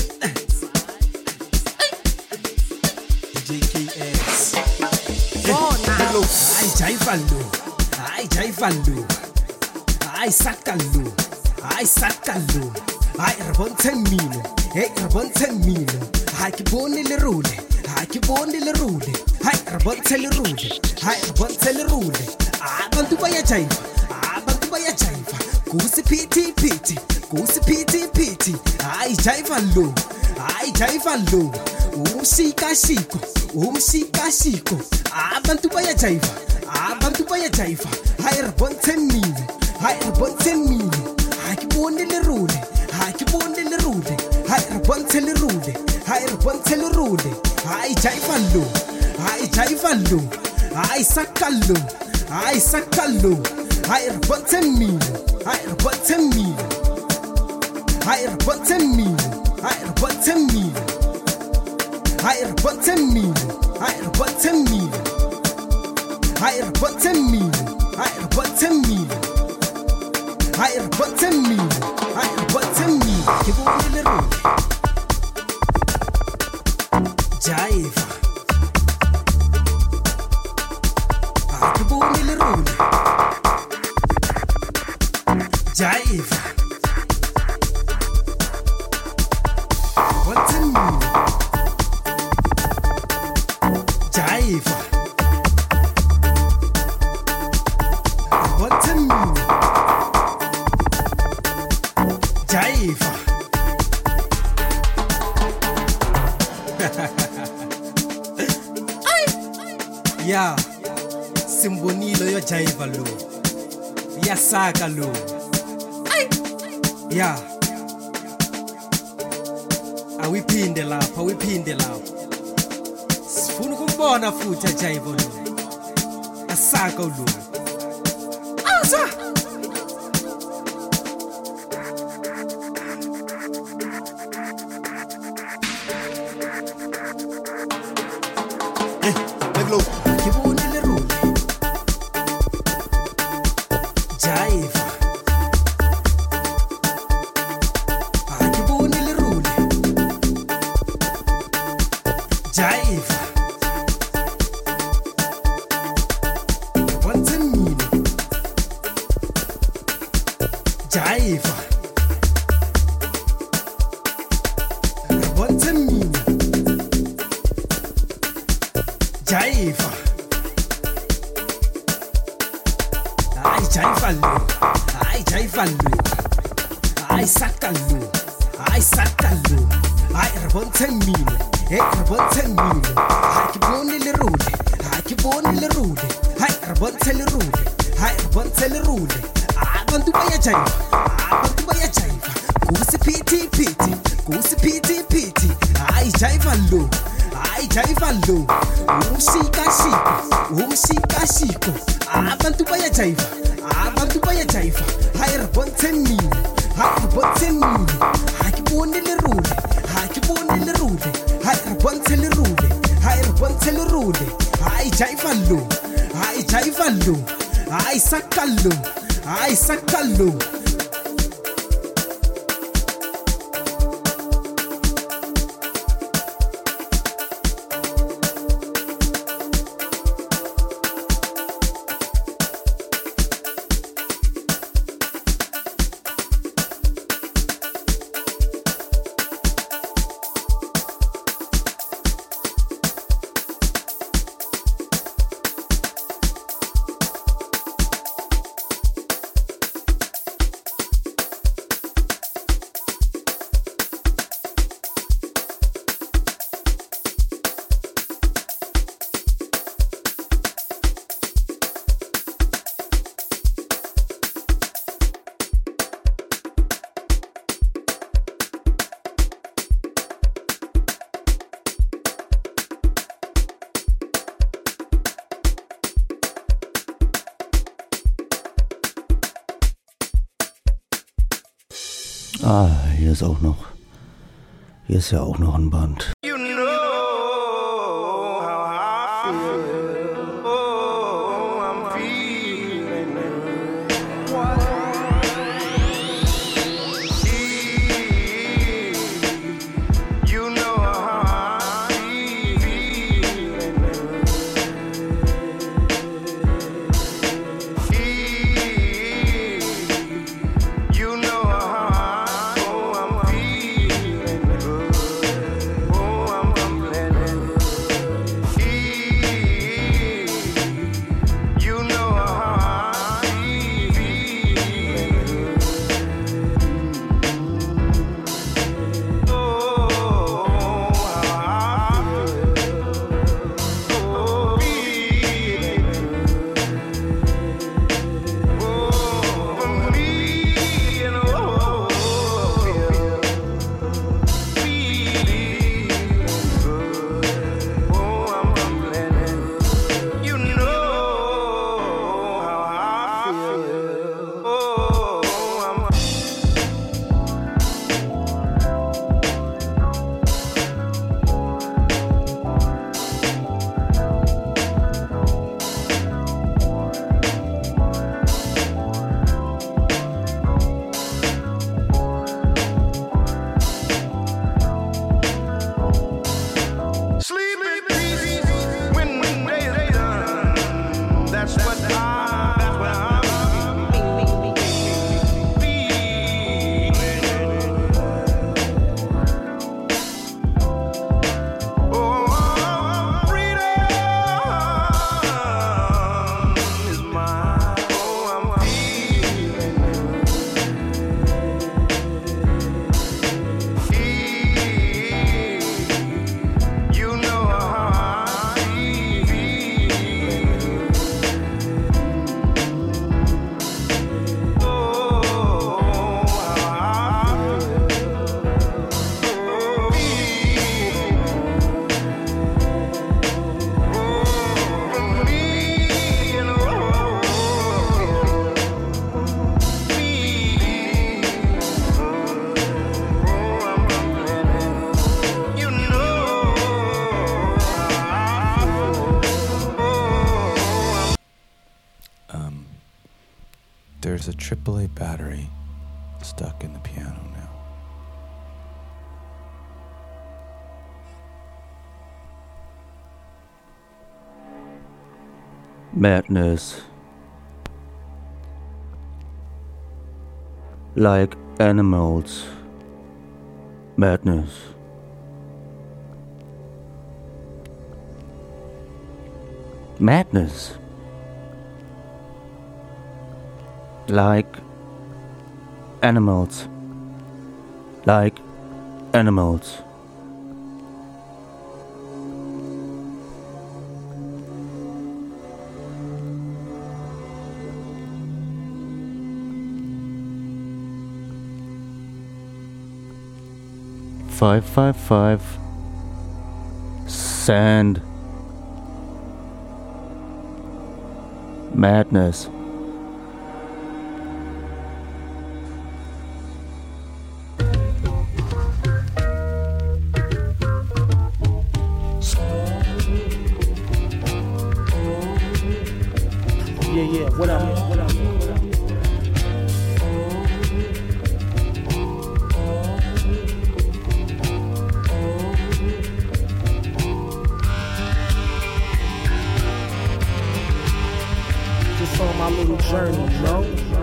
JKS. Hello, I jive Lou, I jive Lou, I saka Lou, I saka Lou, I rabonten milo, hey rabonten milo, I keep on the rule, I keep on the rule, I rabonten rule, I rabonten rule. Abantu bayajiva, abantu bayajiva. Kusi piti piti, kusi piti piti. Ai jiva lo, ai jiva lo. Umshika shiko, umshika shiko. Abantu bayajiva, abantu bayajiva. Hai rabonten mile, hai rabonten mile. Hai kibonde le rule, hai kibonde le rule. Hai rabonten le rule, hai rabonten le rule. Hai jiva lo, hai jiva lo. Hai sakalo. I sakalo, I rabonten me, I rabonten me, I rabonten me, I rabonten me, I rabonten me, I rabonten me, I rabonten me, I rabonten me, I rabonten me, I rabonten me. Keep on the road, jive. Jive. What's in me? Jive. What's in me? Jive. Yeah. Simbonilo yo jive lo. Ya saka lo. Yeah. Awiphinde lapha, awiphinde lapha. Sifuna ukubona futhi ajayivo lo. Asaka lo. Asa. Beglo. Kibuni le rule. Jive. Jive. What's in me? Jive. What's in me? Jive. I jive allo. I jive allo. I sakallo. I sakallo. I rabonten me. Hey, rabonten milo. Hai kibonde le rule. Hai kibonde le rule. Hai rabonten le rule. Hai rabonten le rule. Abantu bayajiva. Abantu bayajiva. Kusi piti piti. Kusi piti piti. Hai jiva lo. Hai jiva lo. Umshika shiko. Umshika shiko. Abantu bayajiva. Abantu bayajiva. Hai rabonten milo. Hai rabonten milo. Hai kibonde le rule. Hai kibonde le rule. Hai rabonten le rule. Hai rabonten le rule. Hai jiva lo. Hai jiva lo. Hai sakalo. Hai sakalo. Hier ist ja auch noch ein Band. There's a AAA battery stuck in the piano now. Madness. Like animals. Madness. Madness. Like animals. Like animals. $555 Sand. Madness. Yeah, what up? Just on my little journey, you know?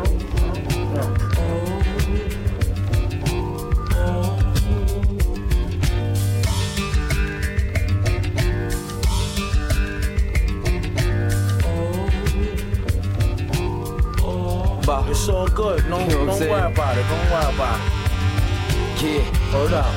But it's all good. Don't worry about it. Don't worry about it. Yeah, hold up.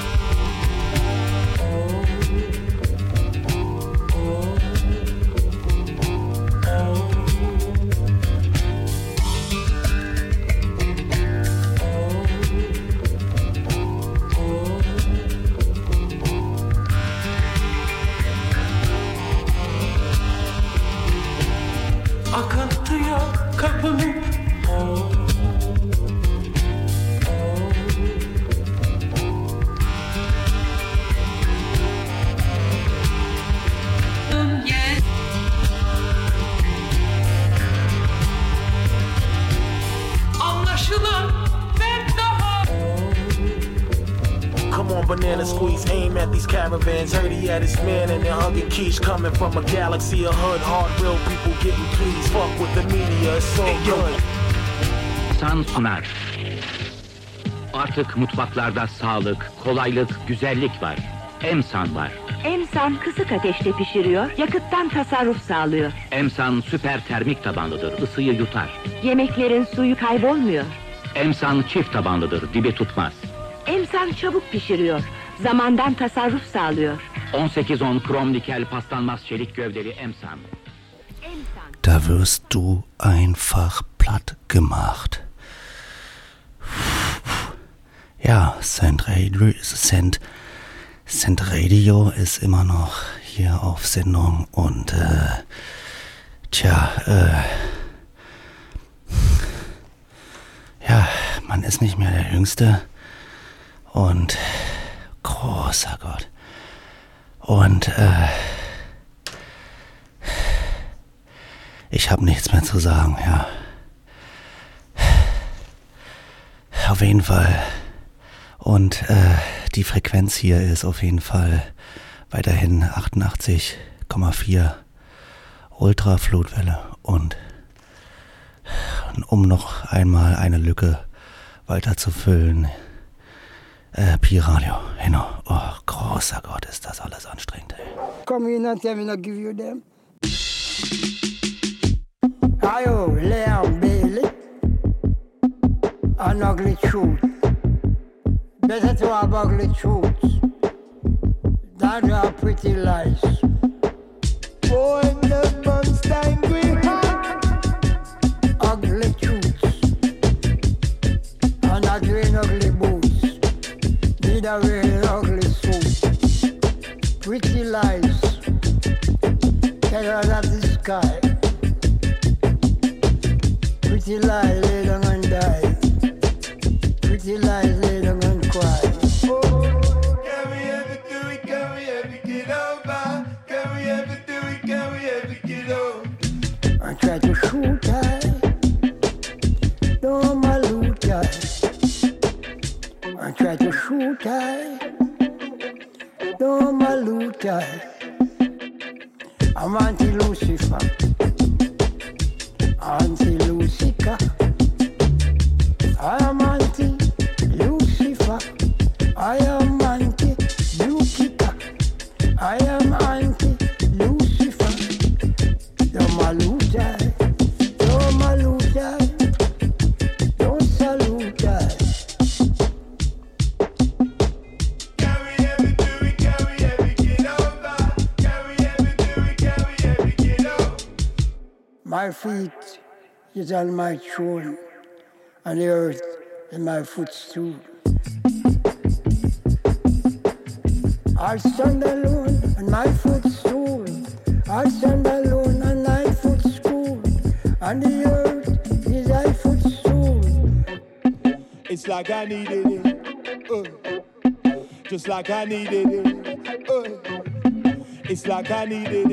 I come to your company. on banana squeeze, aim at these caravans. Heard he had his man and then hugging quiche. Coming from a galaxy of hood, hard, real people getting pleased. Fuck with the media, it's so good. San sunar. Artık mutfaklarda sağlık, kolaylık, güzellik var. Emsan var. Emsan kısık ateşte pişiriyor, yakıttan tasarruf sağlıyor. Emsan süper termik tabanlıdır, ısıyı yutar. Yemeklerin suyu kaybolmuyor. Emsan çift tabanlıdır, dibi tutmaz. Emsan çabuk pişiriyor, zamandan tasarruf sağlıyor. 18-10 krom nikel paslanmaz çelik gövdeli Emsan. Da wirst du einfach platt gemacht. Ja, Cent Radio ist immer noch hier auf Sendung und ja, man ist nicht mehr der Jüngste und großer Gott. Und ich habe nichts mehr zu sagen, ja. Auf jeden Fall. Und die Frequenz hier ist auf jeden Fall weiterhin 88,4 Ultraflutwelle. Und um noch einmal eine Lücke weiter zu füllen, Pi Radio. Genau. Oh, großer Gott, ist das alles anstrengend, ey. Come in and tell me not give you them. Ayo, Leon Bailey. An ugly truth. Better to have ugly truths than to have pretty lies. Oh, and the Bernstein green heart. Ugly truths. And not wearing ugly boots. Neither wearing ugly suits. Pretty lies. Terror of the sky. Pretty lies lay down and die. Pretty lies lay down and cry. Oh, can we ever do it? Can we ever get over? Can we ever do it? Can we ever get over? I try to shoot her, no my loot her. I try to shoot her, no my loot her. I'm anti-Lucifer, anti-Lucifer. I am anti-Lucifer. I am anti-Lucifer. I am anti-Lucifer. Don't salute I. Don't salute I. Don't salute I. Can we ever do it? Can we ever get over? Can we ever do it? Can we ever get over? My feet is on my throne, and the earth is my footstool. I stand alone on my footstool. I stand alone on my footstool. And the earth is my footstool. It's like I needed it. Just like I needed it. It's like I needed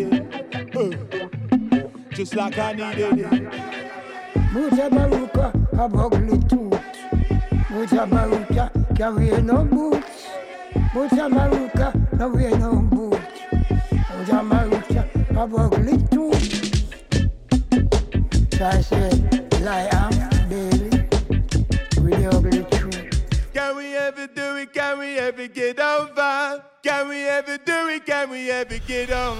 it. Just like I needed it. Mutabaruka have ugly tooth. Mutabaruka carry no boots. Mutabaruka no wear no boots. Mutabaruka have ugly tooth. So I say, lie am Bailey with the ugly truth. Can we ever do it? Can we ever get over? Can we ever do it? Can we ever get on?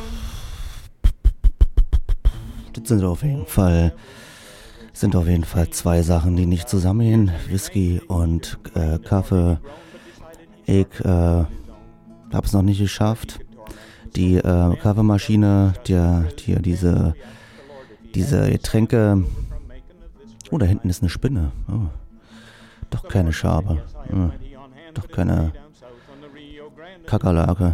Das sind auf jeden Fall zwei Sachen, die nicht zusammengehen. Whisky und Kaffee. Ich habe es noch nicht geschafft. Die Kaffeemaschine, diese Getränke. Oh, da hinten ist eine Spinne. Oh, doch keine Schabe. Oh, doch keine Kakerlake.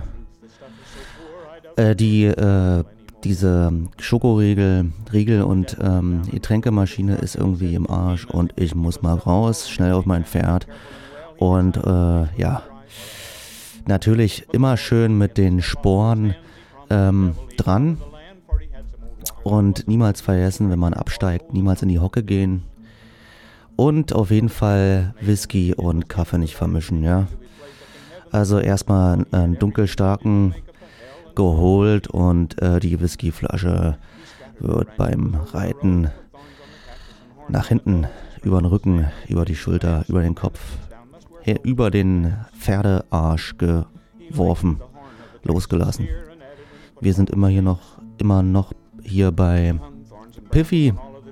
Diese Schokoriegel und Getränkemaschine ist irgendwie im Arsch und ich muss mal raus, schnell auf mein Pferd. Und ja, natürlich immer schön mit den Sporen dran und niemals vergessen, wenn man absteigt, niemals in die Hocke gehen und auf jeden Fall Whisky und Kaffee nicht vermischen, ja. Also erstmal einen dunkelstarken geholt und die Whiskyflasche wird beim Reiten nach hinten, über den Rücken, über die Schulter, über den Kopf, über den Pferdearsch geworfen, losgelassen. Wir sind immer noch hier bei Piffy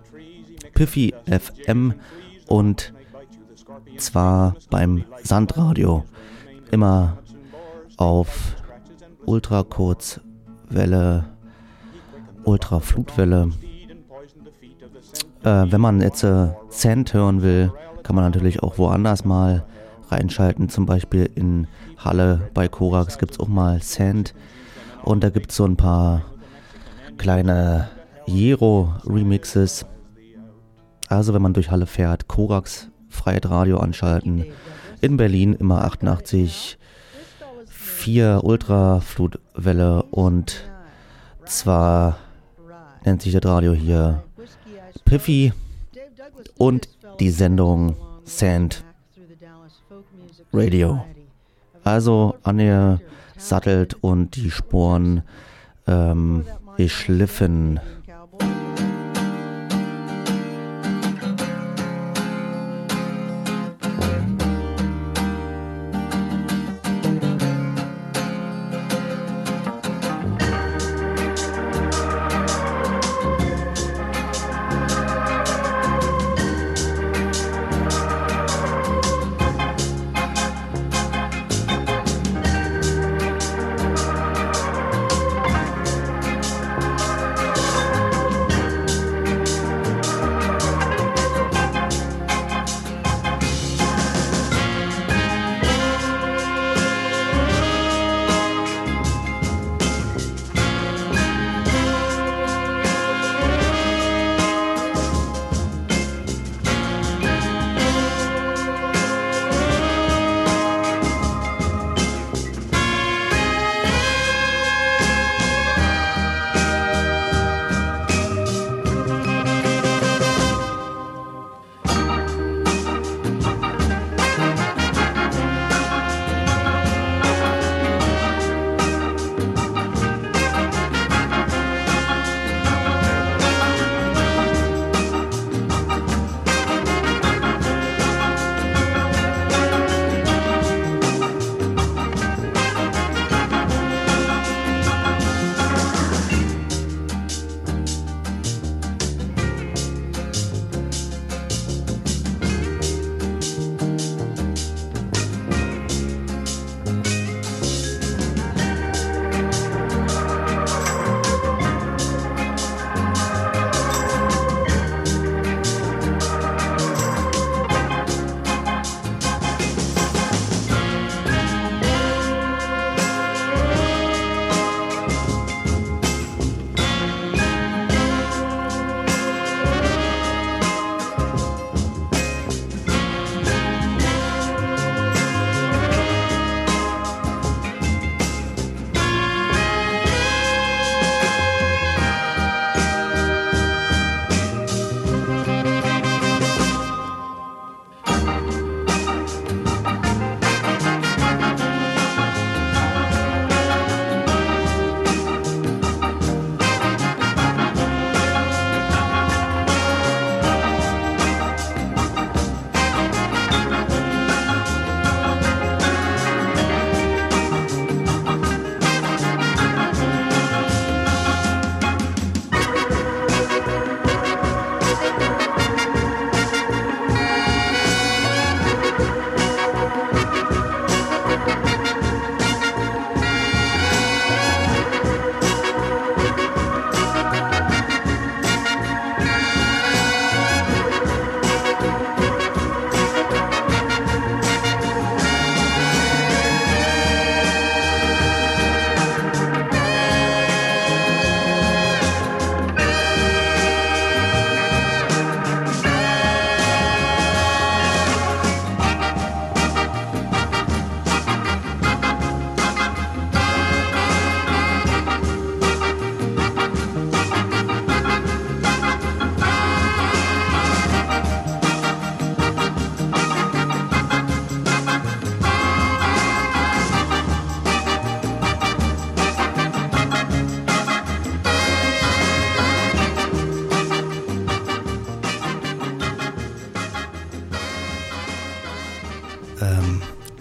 FM und zwar beim Sandradio. Immer auf Ultrakurzwelle, Ultraflutwelle. Wenn man jetzt Sand hören will, kann man natürlich auch woanders mal reinschalten. Zum Beispiel in Halle bei Korax gibt es auch mal Sand. Und da gibt es so ein paar kleine Jero-Remixes. Also wenn man durch Halle fährt, Korax Freiheit-Radio anschalten. In Berlin immer 88,4 Ultraflutwelle und zwar nennt sich das Radio hier Piffy und die Sendung Sand Radio. Also angesattelt und die Sporen geschliffen.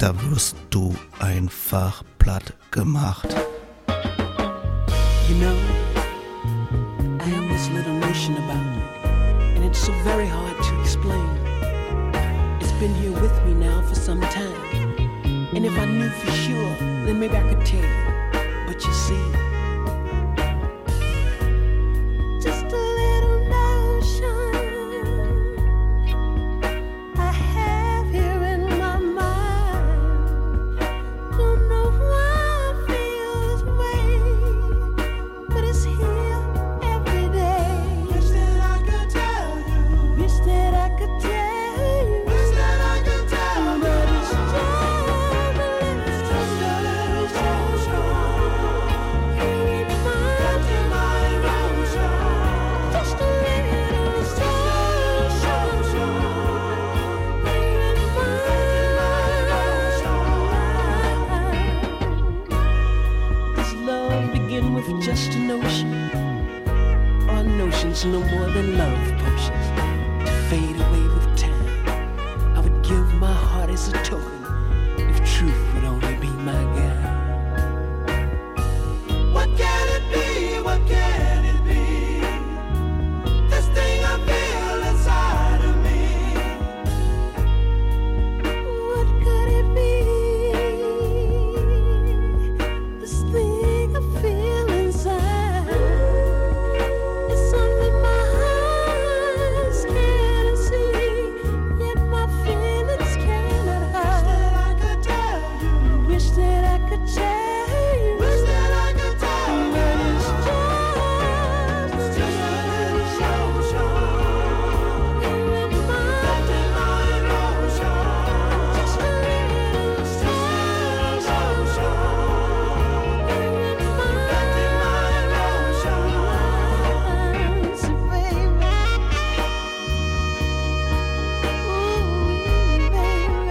da wirst du einfach platt gemacht. You know, I have this little notion about you, and it's so very hard to explain. It's been here with me now for some time, and if I knew for sure, then maybe I could tell you. But you see, just a little notion I have here in my mind. Don't know why I feel this way, but it's here every day. Wish that I could tell you. Wish that I could tell you. Wish that I could tell you. But it's just a little notion. Just a notion, or notions no more than love potions to fade away with time. I would give my heart as a token if truth would only be my guide. What can it be? What can it be? This thing I feel inside of me. What could it be? This thing I feel inside. It's something my eyes can't see, yet my feelings cannot hide. Wish that I could tell you. Wish that I could tell you. But it's just a little notion here in my emotion. Just a little notion here in my emotions, baby. Ooh, baby.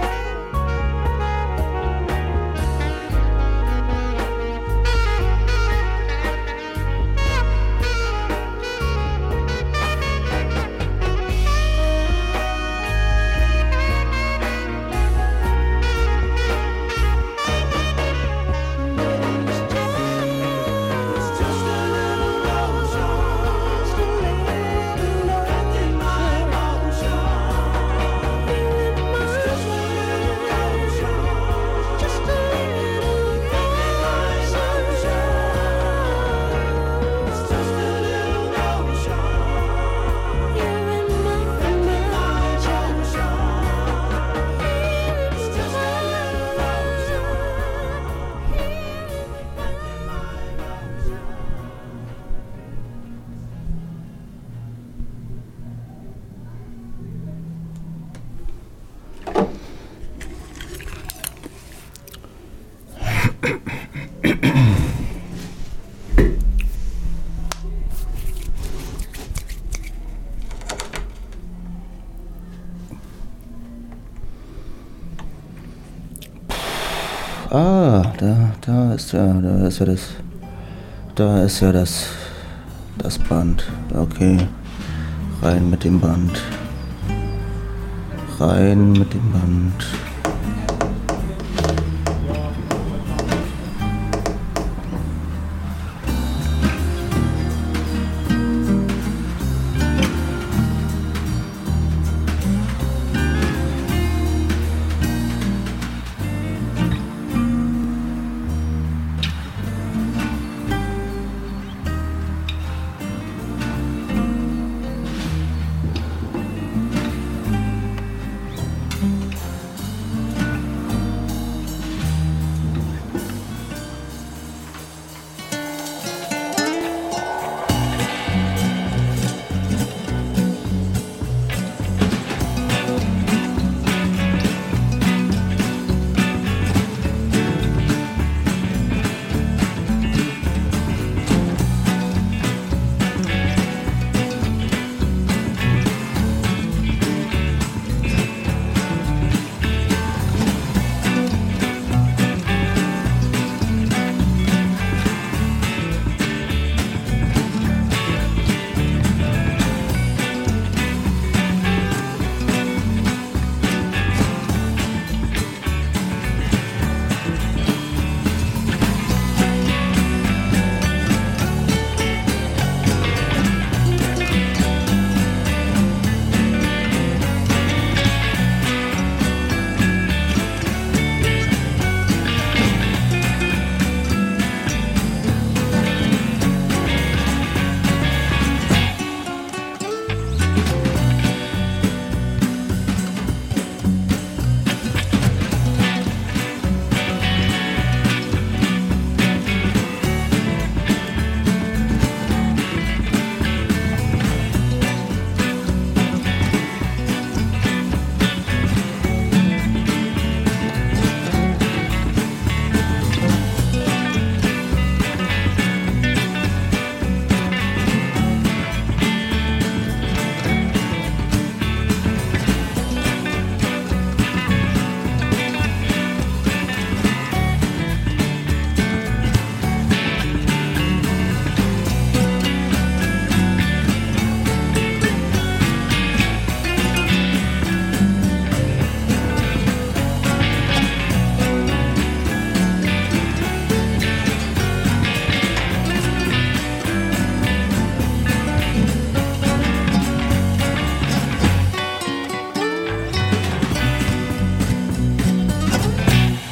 Da ist ja das Band. Okay, rein mit dem Band. Rein mit dem Band.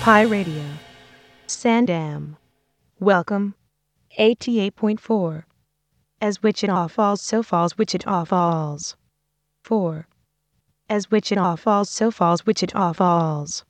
Pi Radio. Sandam. Welcome. 88.4. As Wichita Falls, so falls Wichita Falls. 4. As Wichita Falls, so falls Wichita Falls.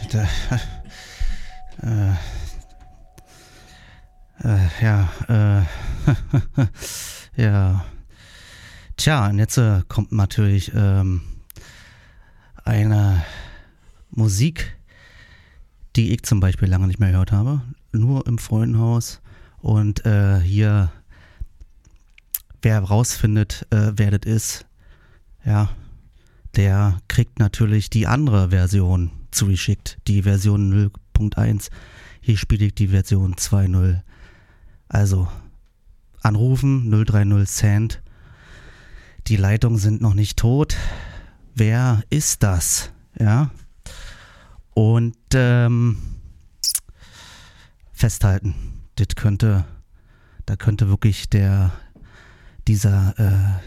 ja. Tja, und jetzt kommt natürlich eine Musik, die ich zum Beispiel lange nicht mehr gehört habe. Nur im Freundenhaus. Und hier, wer rausfindet, wer das ist, ja, der kriegt natürlich die andere Version zugeschickt. Die Version 0.1. Hier spiele ich die Version 2.0. Also, anrufen 030 Cent. Die Leitungen sind noch nicht tot. Wer ist das? Ja. Und festhalten. Da könnte wirklich dieser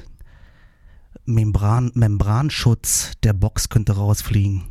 Membranschutz der Box könnte rausfliegen.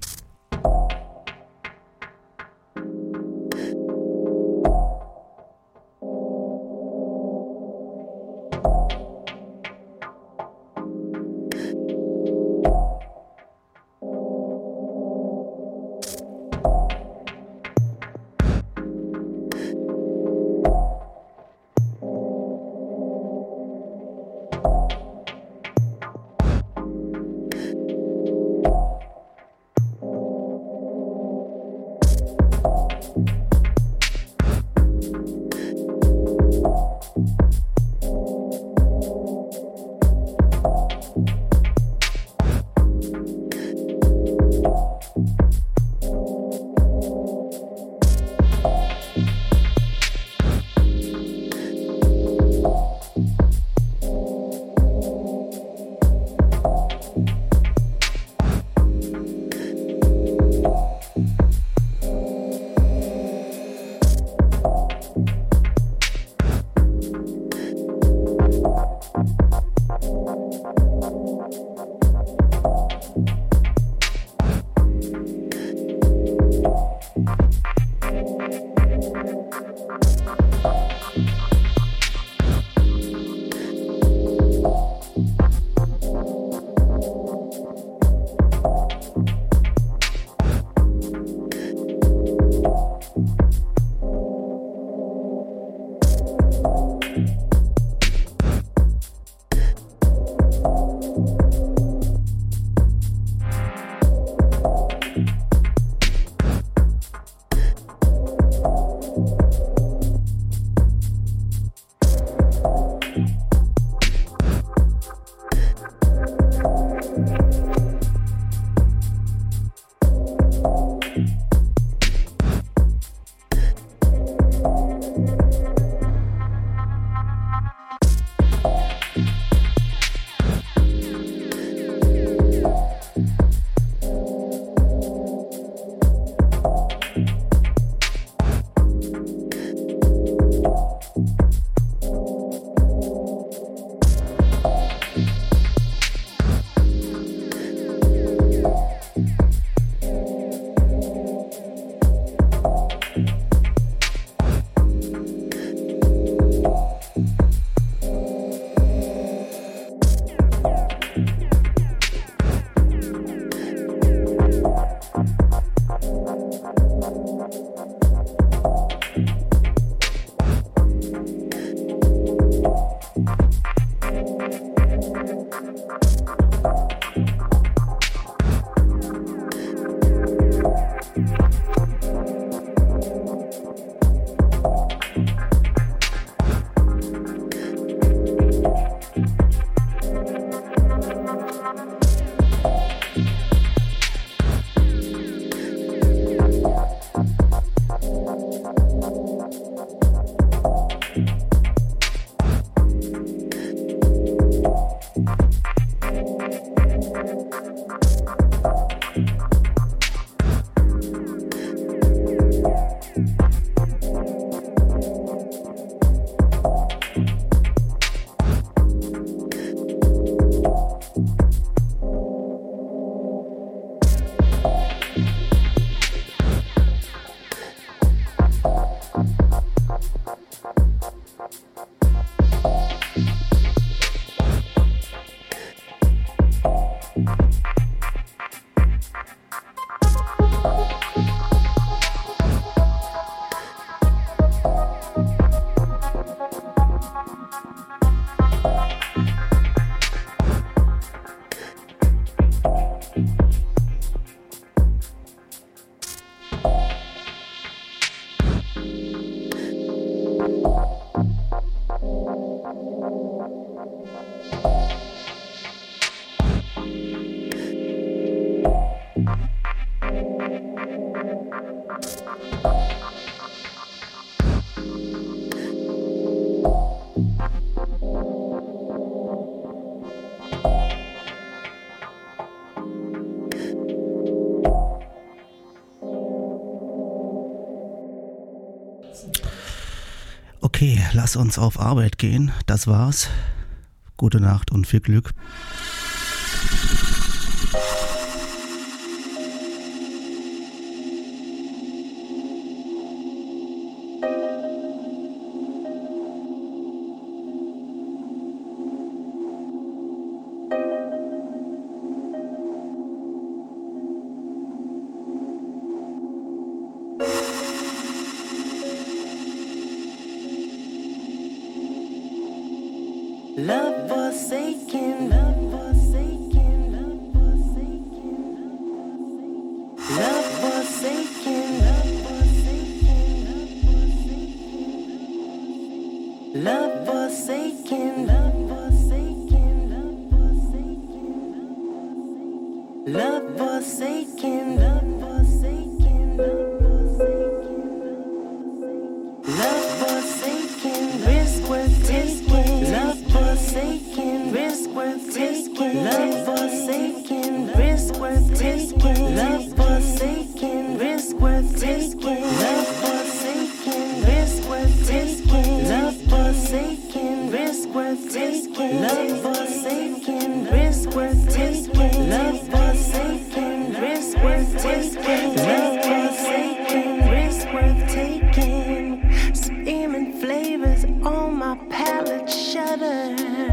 lass uns auf Arbeit gehen. Das war's. Gute Nacht und viel Glück. Love forsaken, love forsaken, love forsaken, love forsaken, love forsaken, love forsaken, love forsaken, love forsaken, love forsaken, love forsaken, risk worth taking, love forsaken, risk worth taking, love forsaken, risk worth taking, love forsaken, risk worth taking, love forsaken, risk worth taking, love forsaken, risk worth taking, love forsaken, risk worth taking, love forsaken, risk worth taking, love forsaken, risk worth taking, steaming flavors on my palate shudder.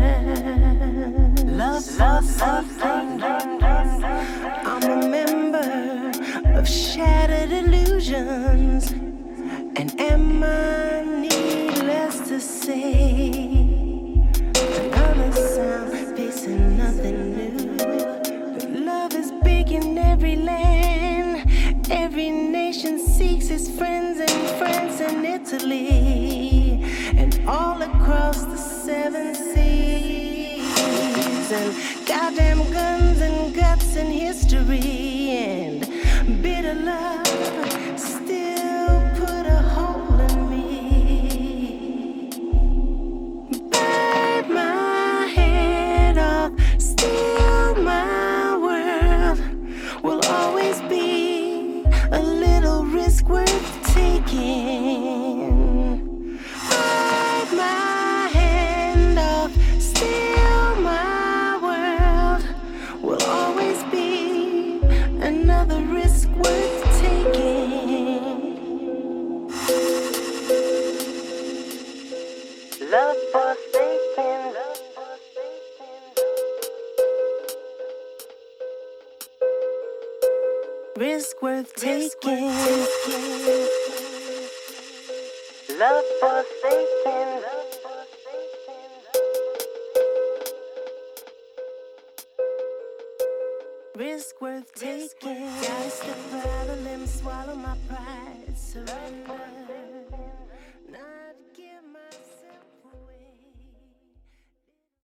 Love forsaken, I'm a member of shattered illusions, and am I needless to say, another sound facing nothing new. Love is big in every land, every nation seeks its friends in France and Italy, and all across the 7 seas, and goddamn guns and guts and history, and bitter love still put a hole in me. Bite my head off, steal my world, will always be a little risk worth taking. Bite my hand off, steal my world, will always be another risk worth taking. Love forsaken, love forsaken, risk worth taking. Love forsaken, love forsaken, risk worth taking. Gotta step out of limb, swallow my pride, surrender.